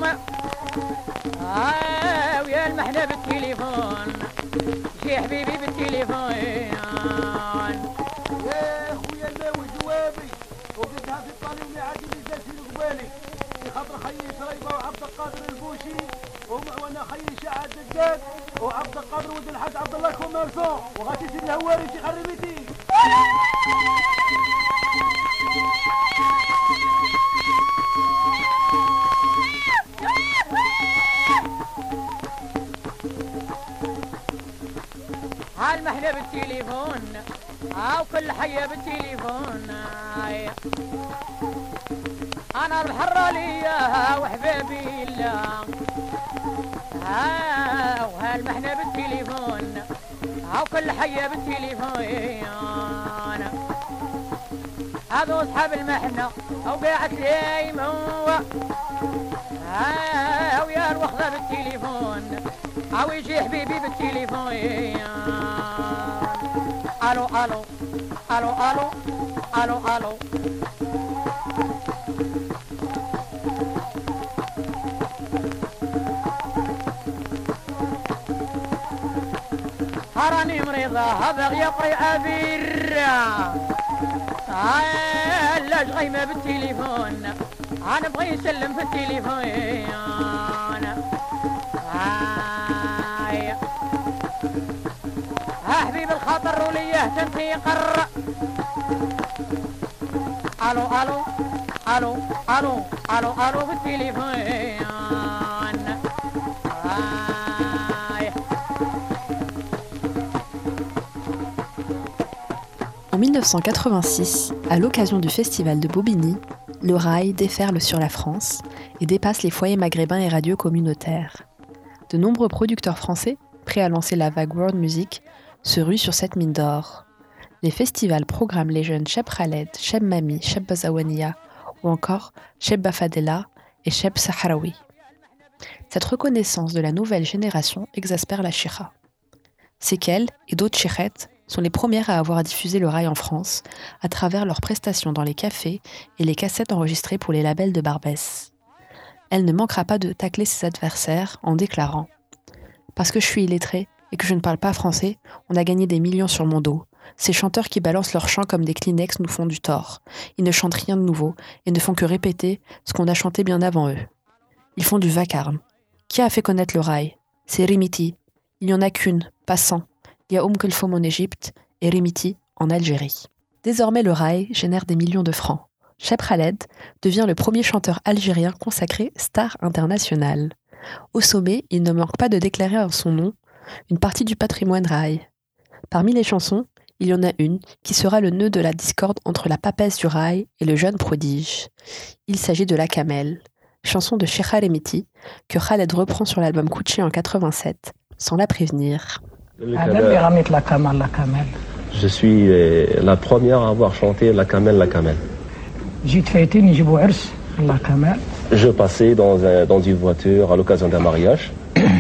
ويا المحنة بالتليفون شي حبيبي بالتليفون يا خويا الماوي جوابي وقلتها في الطالب اللي عادي بالجاسين قبالي خاطر خيي شريبه وعبد القادر البوشي وانا خيي شعاد الدجاج وعبد القادر ولد الحاج عبد الله كوميرسون وغادي سيدي الهواري شي خربيتي المحنة بالتليفون وكل حية بالتليفون انا الحرة ليا وحبابي الله وهالمحنة بالتليفون هاو كل حية بالتليفون هذو اصحاب المحنة او قاعد ليم هو او يا واخذة بالتليفون او يجي حبيبي بالتليفون الو الو الو الو الو الو هراني مريضة هذا يقري عبير لاش غيمة بالتليفون انا بغي يسلم في التليفون ها حبيب الخاطر وليه تنتيقر الو الو الو الو الو الو بالتليفون En 1986, à l'occasion du festival de Bobigny, le rail déferle sur la France et dépasse les foyers maghrébins et radios communautaires. De nombreux producteurs français, prêts à lancer la vague world music, se ruent sur cette mine d'or. Les festivals programment les jeunes Cheb Khaled, Cheb Mami, Cheb Bazawania ou encore Cheb Bafadela et Cheb Sahraoui. Cette reconnaissance de la nouvelle génération exaspère la Chira. C'est qu'elle et d'autres chirettes sont les premières à avoir diffusé le rail en France à travers leurs prestations dans les cafés et les cassettes enregistrées pour les labels de Barbès. Elle ne manquera pas de tacler ses adversaires en déclarant « Parce que je suis illettrée et que je ne parle pas français, on a gagné des millions sur mon dos. Ces chanteurs qui balancent leurs chants comme des Kleenex nous font du tort. Ils ne chantent rien de nouveau et ne font que répéter ce qu'on a chanté bien avant eux. Ils font du vacarme. Qui a fait connaître le rail ? C'est Rimiti. Il n'y en a qu'une, pas 100. Il y a Kelfoum en Égypte et Rimiti en Algérie. » Désormais, le rail génère des millions de francs. Cheb Khaled devient le premier chanteur algérien consacré star international. Au sommet, il ne manque pas de déclarer en son nom une partie du patrimoine rail. Parmi les chansons, il y en a une qui sera le nœud de la discorde entre la papesse du rail et le jeune prodige. Il s'agit de La Camel, chanson de Cheikha Rimiti que Khaled reprend sur l'album Kouchi en 87, sans la prévenir. Je suis la première à avoir chanté La Camel, La Camel. Je passais dans une voiture à l'occasion d'un mariage.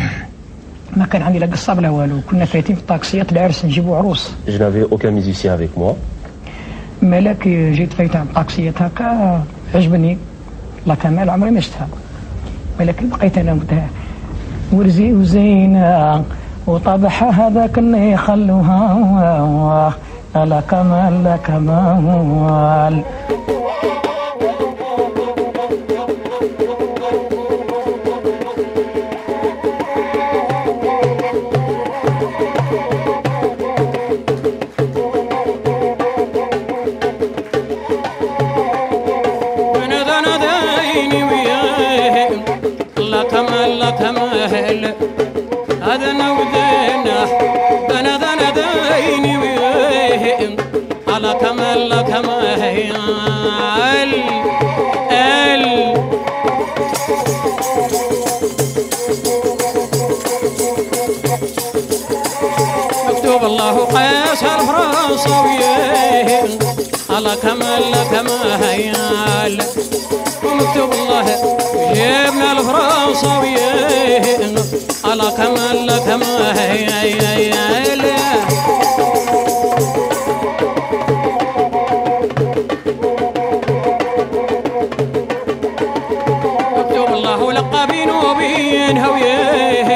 Je n'avais aucun musicien avec moi. وطبحها هذاك اللي يخلوها لا كمال لا كمال لا كمال لا كمال هذا نودينا أنا ديني ويه على كمال لا كمال مكتوب الله قياس الفرنساويين على كمال لا كمال ومكتوب الله جبنا الفرنساويين على كمال لا كمال مكتوب الله لقى بين وبين هويه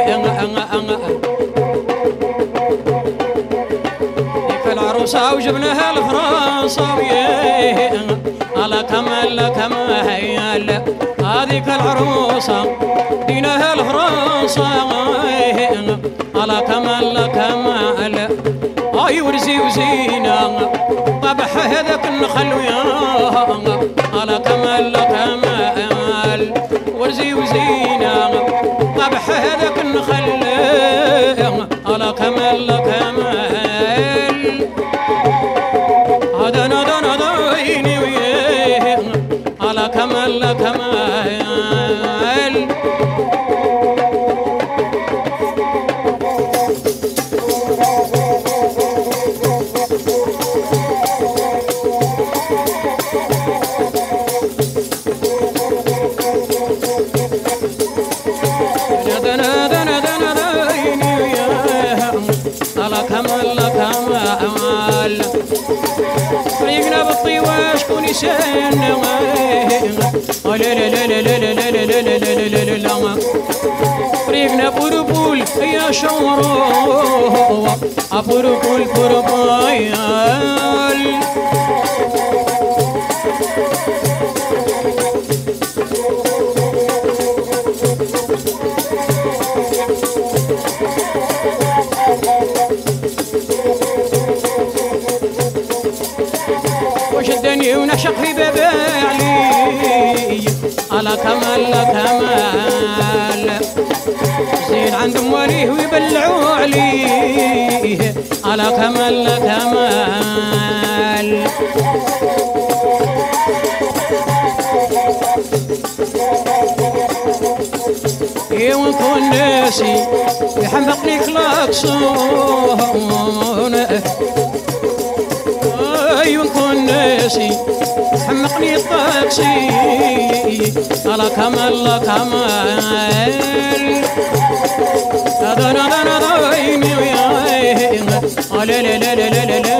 ديك العروسة وجبناها الفرنساويين على كمال لا كمال هذيك العروسة دينها الفرنسا على كمال لا كمال اي ورزي وزينة طبح هذاك النخل وياها على كمال لا كمال ورزي وزينة طبح هذاك النخل على كمال لا كمال هذا ديني وياه على كمال لا كمال شكون يسال لا لا لا لا لا لا لا لا لا لا لا طريقنا بوربول يا شورو بوربول بوربايال وشدني ونعشق في باب علي على كمال كمال زين عند مواليه ويبلعوا عليه على كمال كمال ونكون ناسي يحمقني كلاكسون ونكون ناسي حمقني الطاكسي على كمال كمال هذا انا عيني وياي لا لا لا لا لا لا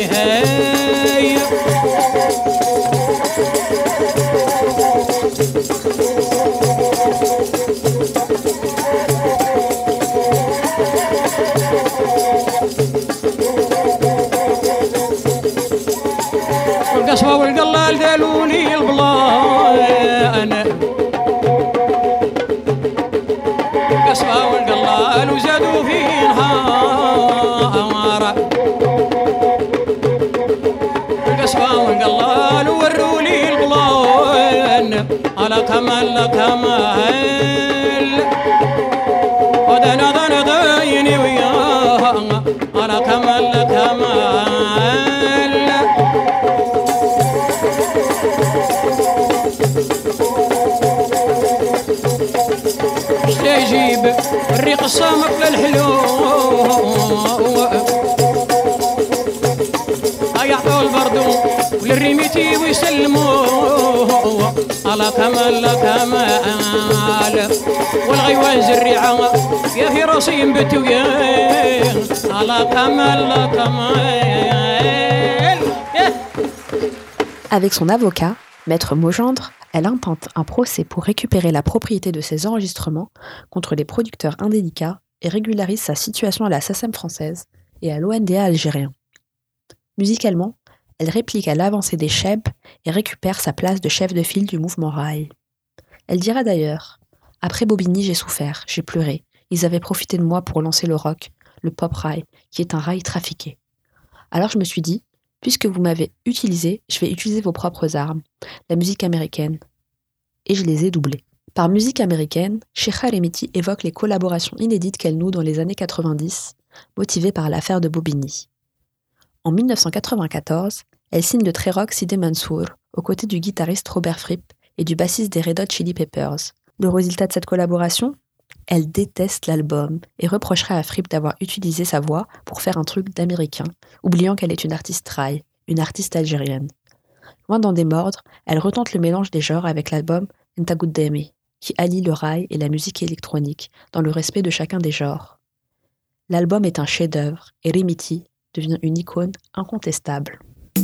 والقصوى والقلال دالوني البلان القصوى والقلال وزادوا في نهار القصوى والقلال ورولي البلان على كمال كمال ودنا دنا دايني وياه على كمال كمال يجيب الريق الصامت للحلو يعطوا البردو وللريميتي ويسلموا على كمال كمال والغيوان زريعة يا في راسي ينبتوا يا على كمال كمال. Avec son avocat, Maître Maugendre, elle intente un procès pour récupérer la propriété de ses enregistrements contre les producteurs indélicats et régularise sa situation à la SACEM française et à l'ONDA algérien. Musicalement, elle réplique à l'avancée des Cheb et récupère sa place de chef de file du mouvement Raï. Elle dira d'ailleurs « Après Bobigny, j'ai souffert, j'ai pleuré. Ils avaient profité de moi pour lancer le rock, le pop Raï, qui est un rail trafiqué. Alors je me suis dit, puisque vous m'avez utilisé, je vais utiliser vos propres armes, la musique américaine. Et je les ai doublées. » Par musique américaine, Sheikha Remiti évoque les collaborations inédites qu'elle noue dans les années 90, motivées par l'affaire de Bobigny. En 1994, elle signe le très rock Sidi Mansour, aux côtés du guitariste Robert Fripp et du bassiste des Red Hot Chili Peppers. Le résultat de cette collaboration ? Elle déteste l'album et reprocherait à Fripp d'avoir utilisé sa voix pour faire un truc d'américain, oubliant qu'elle est une artiste raï, une artiste algérienne. Loin d'en démordre, elle retente le mélange des genres avec l'album Nta Goudemi, qui allie le raï et la musique électronique dans le respect de chacun des genres. L'album est un chef-d'œuvre et Remiti devient une icône incontestable.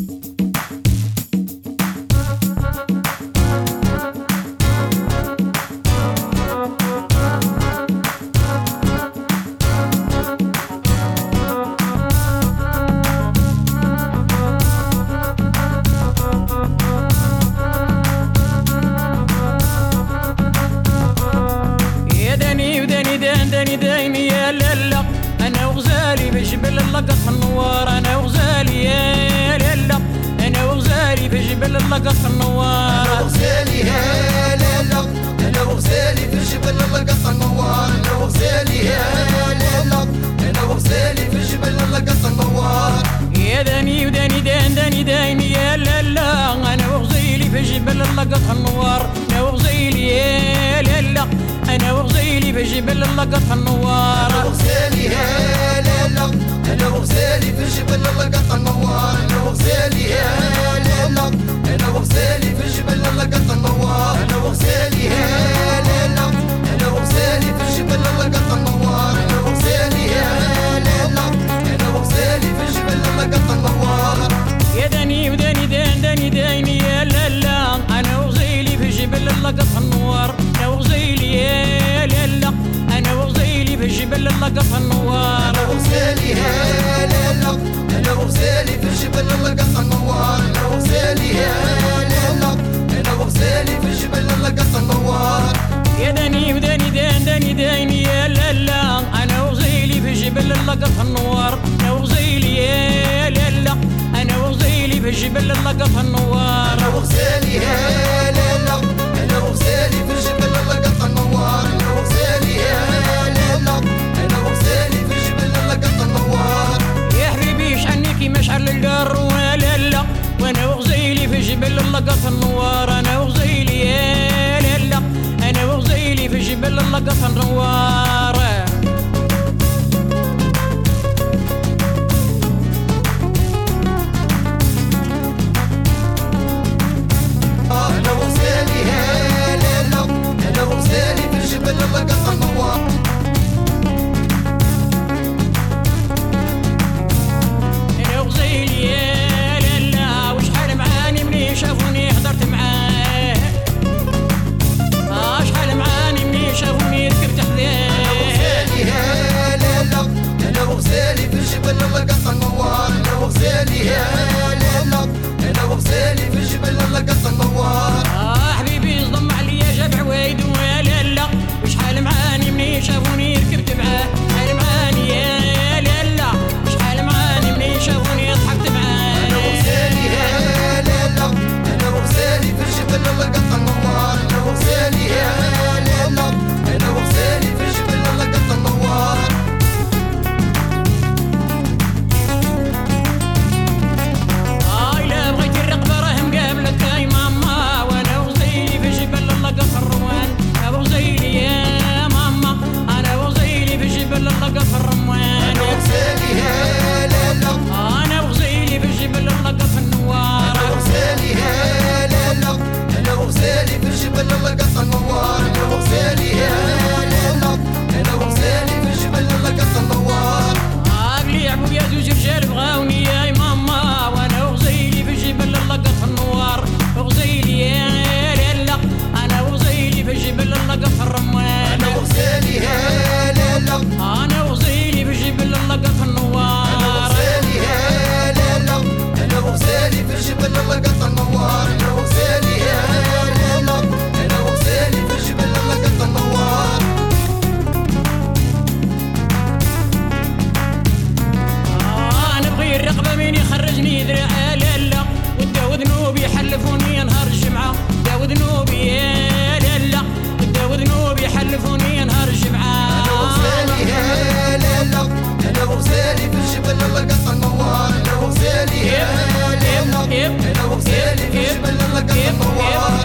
داني يا لالا انا وغزالي بجبل اللقط النوار انا وغزالي يا لالا انا وغزالي بجبل اللقط النوار انا وغزالي يا لالا انا وغزالي بجبل اللقط النوار انا وغزالي يا لالا انا وغزالي بجبل اللقط النوار يا داني داني يا لالا انا وغزالي بجبل اللقط النوار انا وغزالي يا لالا انا وغزالي بجبل اللقط النوار انا وغزالي يا لالا انا وغزالي بجبل اللقط النوار انا وغزالي يا لالا انا وغزالي بجبل اللقط النوار انا وغزالي يا لالا انا وغزالي بجبل اللقط النوار انا وغزالي يا لالا انا وغزالي بجبل اللقط النوار يا داني وداني داني اللقط النوار انا وغزيلي يا لالا انا وغزيلي في الجبل اللقط النوار انا وغزيلي يا لالا انا وغزيلي في الجبل اللقط النوار انا وغزيلي يا لالا انا وغزيلي في الجبل اللقط النوار يا داني وداني داني يا لالا انا وغزيلي في جبل اللقط النوار انا وغزيلي يا لالا انا وغزيلي في جبل اللقط النوار انا وغزيلي يا لالا انا وغزيلي في جبل اللقط النوار انا وغزيلي يا لالا انا وغزيلي في جبل اللقط النوار يا حبيبي شحنيكي مشعل القر ولالا وانا وغزيلي في جبل اللقط النوار انا وغزيلي يا لالا انا وغزيلي في جبل اللقط النوار انا وغزيلي يا لالا انا وغزيلي في جبل اللقط النوار انا وغزيلي يا لالا وشحال معاني مني شافوني حضرت معاه شحال معاني مني شافوني ركبت حذاه انا وغزيلي يا لالا انا وغزيلي في جبل اللقط النوار انا وغزيلي يا لالا انا وغزيلي في جبل اللقط النوار حبيبي صدم عليا جاب عوايد ولالا وشحال معاني مني شافوني ركبت معاه شحال معاني يا لالا شحال معاني مني شافوني ضحكت معاه انا وغزيلي يا لالا انا وغزيلي في جبل اللقط النوار انا وغزيلي يا لالا انا وغزيلي في جبل اللقط النوار لا بغيت الرقبه راه مقابلك يا ماما وانا وغزيلي في جبل اللقط الروان انا وغزيلي يا ماما انا وغزيلي في جبل اللقط الرمان انا وغزيلي يا لالا انا وغزيلي في جبل اللقط النوار انا وغزيلي يا لالا انا وغزيلي في جبل اللقط النوار انا وغزيلي يا لالا انا وغزيلي في جبل اللقط النوار قبلي يعبوا يا زوج رجال بغاوني يا ماما وانا وغزيلي في جبل اللقط النوار وغزيلي يا لالا انا وغزيلي في جبل اللقط الرمان انا وغزيلي يا لالا انا وغزيلي في جبل اللقط النوار انا وغزيلي يا لالا انا وغزيلي في جبل اللقط النوار انا وغزيلي يا لالا انا وغزيلي في جبل اللقط النوار نبغي الرقبه مين يخرجني ذراع لالا وداو ذنوبي حلفوني نهار الجمعه داو ذنوبي يا لالا وداو ذنوبي حلفوني نهار الجمعه انا وغزيلي يا لالا انا وغزيلي في جبل اللقط النوار انا وغزيلي يا لالا انا وغزيلي في جبل اللقط النوار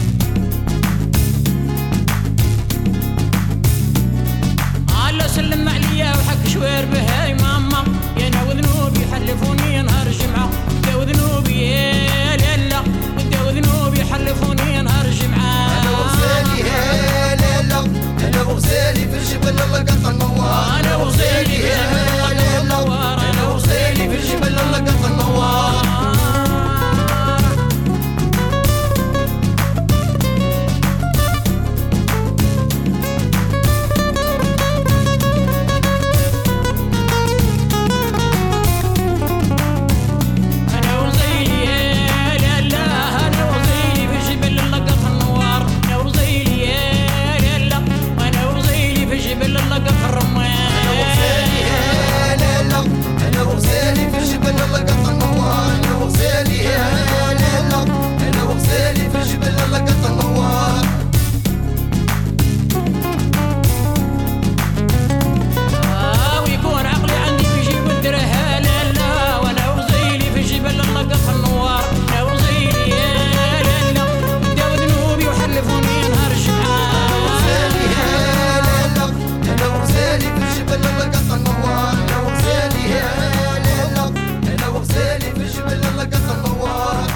الله سلم عليا وحك شوير بهاي ماما يا انا وذنوبي حلفوني نهار الجمعه داو ذنوبي يا لالا وداو ذنوبي حلفوني نهار الجمعه انا وغزيلي يا لالا انا وغزيلي في جبل اللقط النوار انا وغزيلي في جبل اللقط النوار انا وغزيلي في جبل اللقط النوار انا وغزيلي يا لالا انا وغزيلي في جبل اللقط النوار انا وغزيلي يا لالا انا وغزيلي في جبل اللقط الرمان انا وغزيلي يا لالا انا وغزيلي في جبل اللقط النوار انا وغزيلي يا لالا انا وغزيلي في جبل اللقط النوار ويكون عقلي عندي في جيب الدرها لالا وانا وغزيلي في جبل اللقط النوار انا وغزيلي يا لالا داو ذنوبي وحلفوني نهار الجمعه انا وغزيلي يا لالا انا وغزيلي في جبل اللقط النوار انا وغزيلي يا لالا انا وغزيلي في جبل اللقط النوار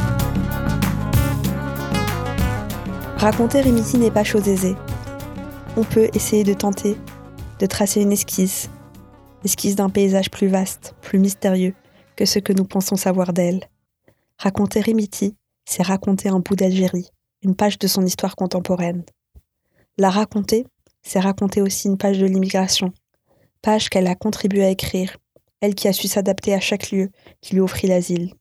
Raconter Rimiti n'est pas chose aisée. On peut essayer de tenter, de tracer une esquisse d'un paysage plus vaste, plus mystérieux que ce que nous pensons savoir d'elle. Raconter Rimiti, c'est raconter un bout d'Algérie, une page de son histoire contemporaine. La raconter, c'est raconter aussi une page de l'immigration, page qu'elle a contribué à écrire, elle qui a su s'adapter à chaque lieu qui lui offrit l'asile.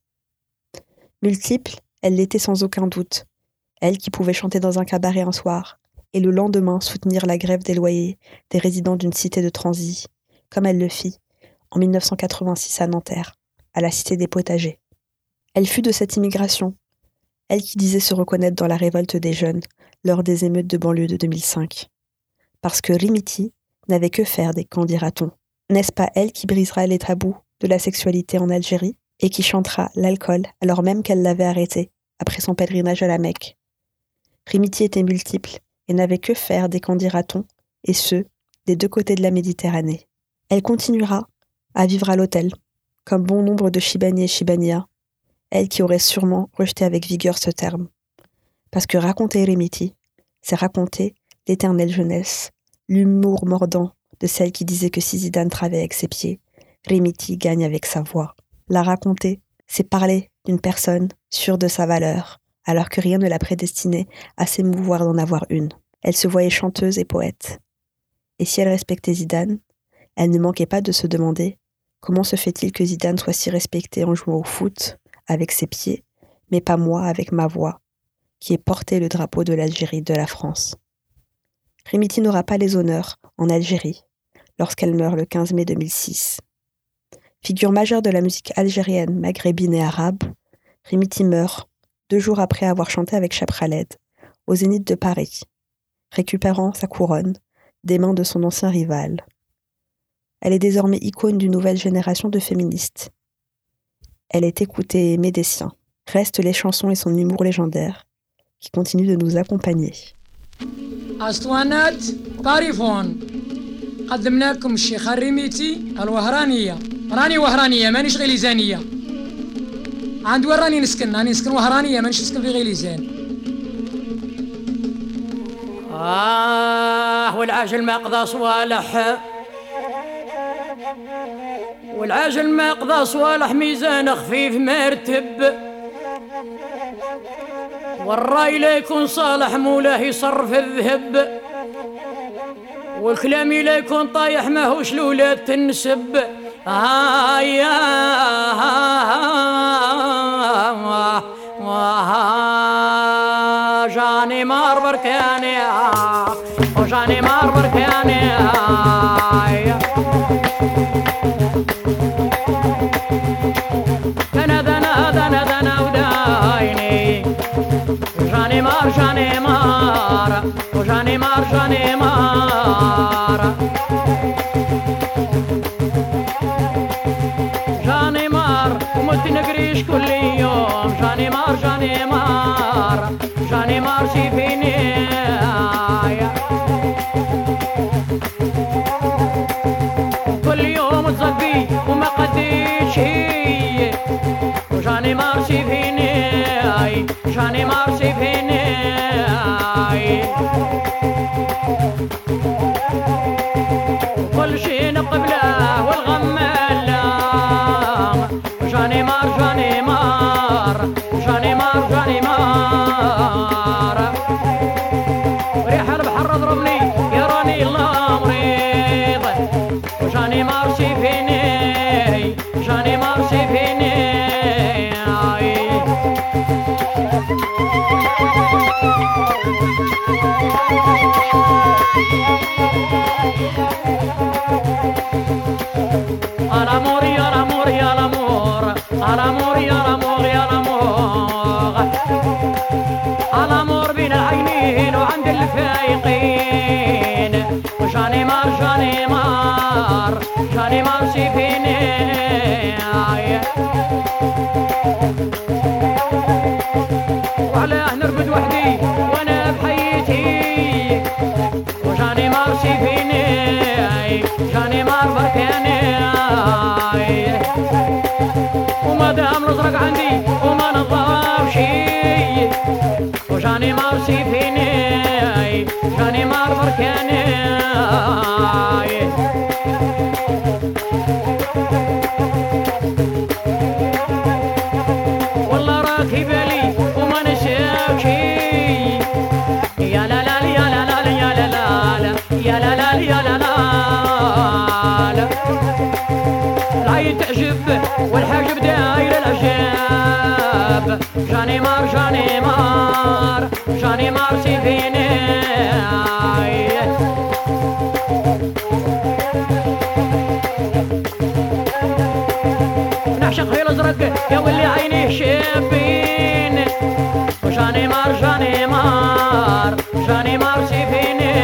Multiple, elle l'était sans aucun doute, elle qui pouvait chanter dans un cabaret un soir, et le lendemain soutenir la grève des loyers des résidents d'une cité de transit, comme elle le fit en 1986 à Nanterre, à la cité des Potagers. Elle fut de cette immigration, elle qui disait se reconnaître dans la révolte des jeunes lors des émeutes de banlieue de 2005. Parce que Rimiti n'avait que faire des qu'en dira-t-on. N'est-ce pas elle qui brisera les tabous de la sexualité en Algérie et qui chantera l'alcool alors même qu'elle l'avait arrêté après son pèlerinage à la Mecque? Rimiti était multiple et n'avait que faire des qu'en dira-t-on, et ce, des deux côtés de la Méditerranée. Elle continuera à vivre à l'hôtel, comme bon nombre de Chibani et Chibania, elle qui aurait sûrement rejeté avec vigueur ce terme. Parce que raconter Rimiti, c'est raconter l'éternelle jeunesse, l'humour mordant de celle qui disait que si Zidane travaille avec ses pieds, Rimiti gagne avec sa voix. La raconter, c'est parler d'une personne sûre de sa valeur, alors que rien ne la prédestinait à s'émouvoir d'en avoir une. Elle se voyait chanteuse et poète. Et si elle respectait Zidane, elle ne manquait pas de se demander comment se fait-il que Zidane soit si respecté en jouant au foot, avec ses pieds, mais pas moi avec ma voix, qui est porté le drapeau de l'Algérie, de la France. Rimiti n'aura pas les honneurs en Algérie, lorsqu'elle meurt le 15 mai 2006. Figure majeure de la musique algérienne, maghrébine et arabe, Rimiti meurt 2 jours après avoir chanté avec Cheb Khaled, au Zénith de Paris, récupérant sa couronne des mains de son ancien rival. Elle est désormais icône d'une nouvelle génération de féministes. Elle est écoutée et aimée des siens. Restent les chansons et son humour légendaire, qui continuent de nous accompagner. أسطوانات طريفون قدمنا لكم الشيخ الريميتي الوهرانية راني وهرانية مانيش غيليزانية عند وين راني نسكن وهرانية مانيش نسكن في غيليزان والعاجل ما قضى صوالح والعاجل ما قضى صوالح ميزان خفيف مرتب والراي لا يكون صالح مولاه يصرف الذهب والكلام لا يكون طايح ماهوش لولاد تنسب جاني مار بركاني وجاني مار بركاني دنا ودايني جاني مار جاني مار وجاني مار جاني مار جاني مار ومت نقريش كل يوم جاني مار جاني مار جاني مار شيفيني كل يوم تصبي وما قديش هي وجاني مار شيفيني جاني مار شيفيني كل شي نقبله والغم لا جاني مار جاني مار جاني مار جاني مار ريح البحر ضربني يا راني الله مريض وجاني مار شيفيني جاني مار شيفيني al amor y al amor y al amor al amor y al amor y al amor al amor بين العينين وعند الفايقين وجاني مار جاني مار جاني مار شيفيني وعلاه نرقد وحدي وانا بحياتي وجاني مار شيفيني جاني مار بركاني وما دام نزرق عندي وما نضاف شي وجاني مار شيفيني جاني مار بركاني والله راكي بالي وما نشاف شي جاني مار جاني مار جاني مار سيفيني نعشق في الازرق يا ولي عينيه شابين وجاني مار جاني مار جاني مار سيفيني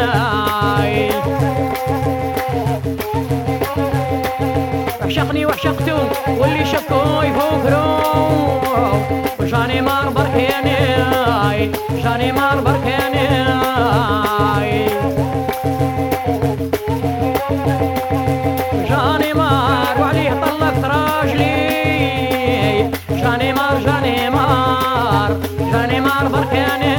عشقني وعشقتو واللي شكو يفكرو وجاني مار بركاني جاني مار بركاني جاني مار وعليه طلقت راجلي جاني مار جاني مار جاني مار بركاني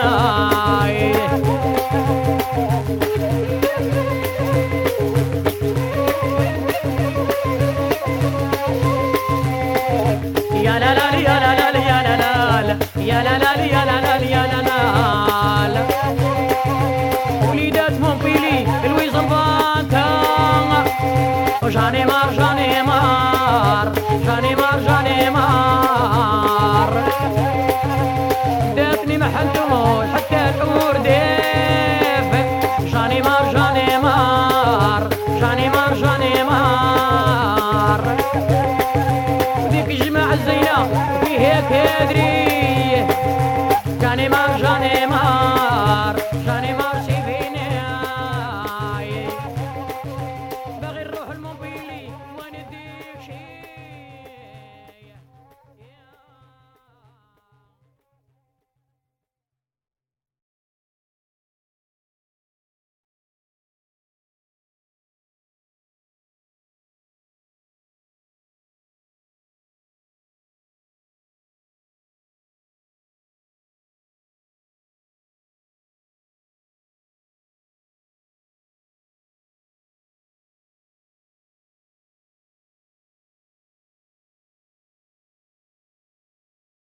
يا لا لا يا لا لا يا لا لا يا لا لا يا لا لا يا لا لا وليدات مونبيلي الويزن فانتا جاني مار جاني مار جاني مار جاني مار داتني محلتو حتى الحور ديف جاني مار جاني مار جاني مار جاني مار وديك الجماعة الزينة فيه هيك يدري جاني مار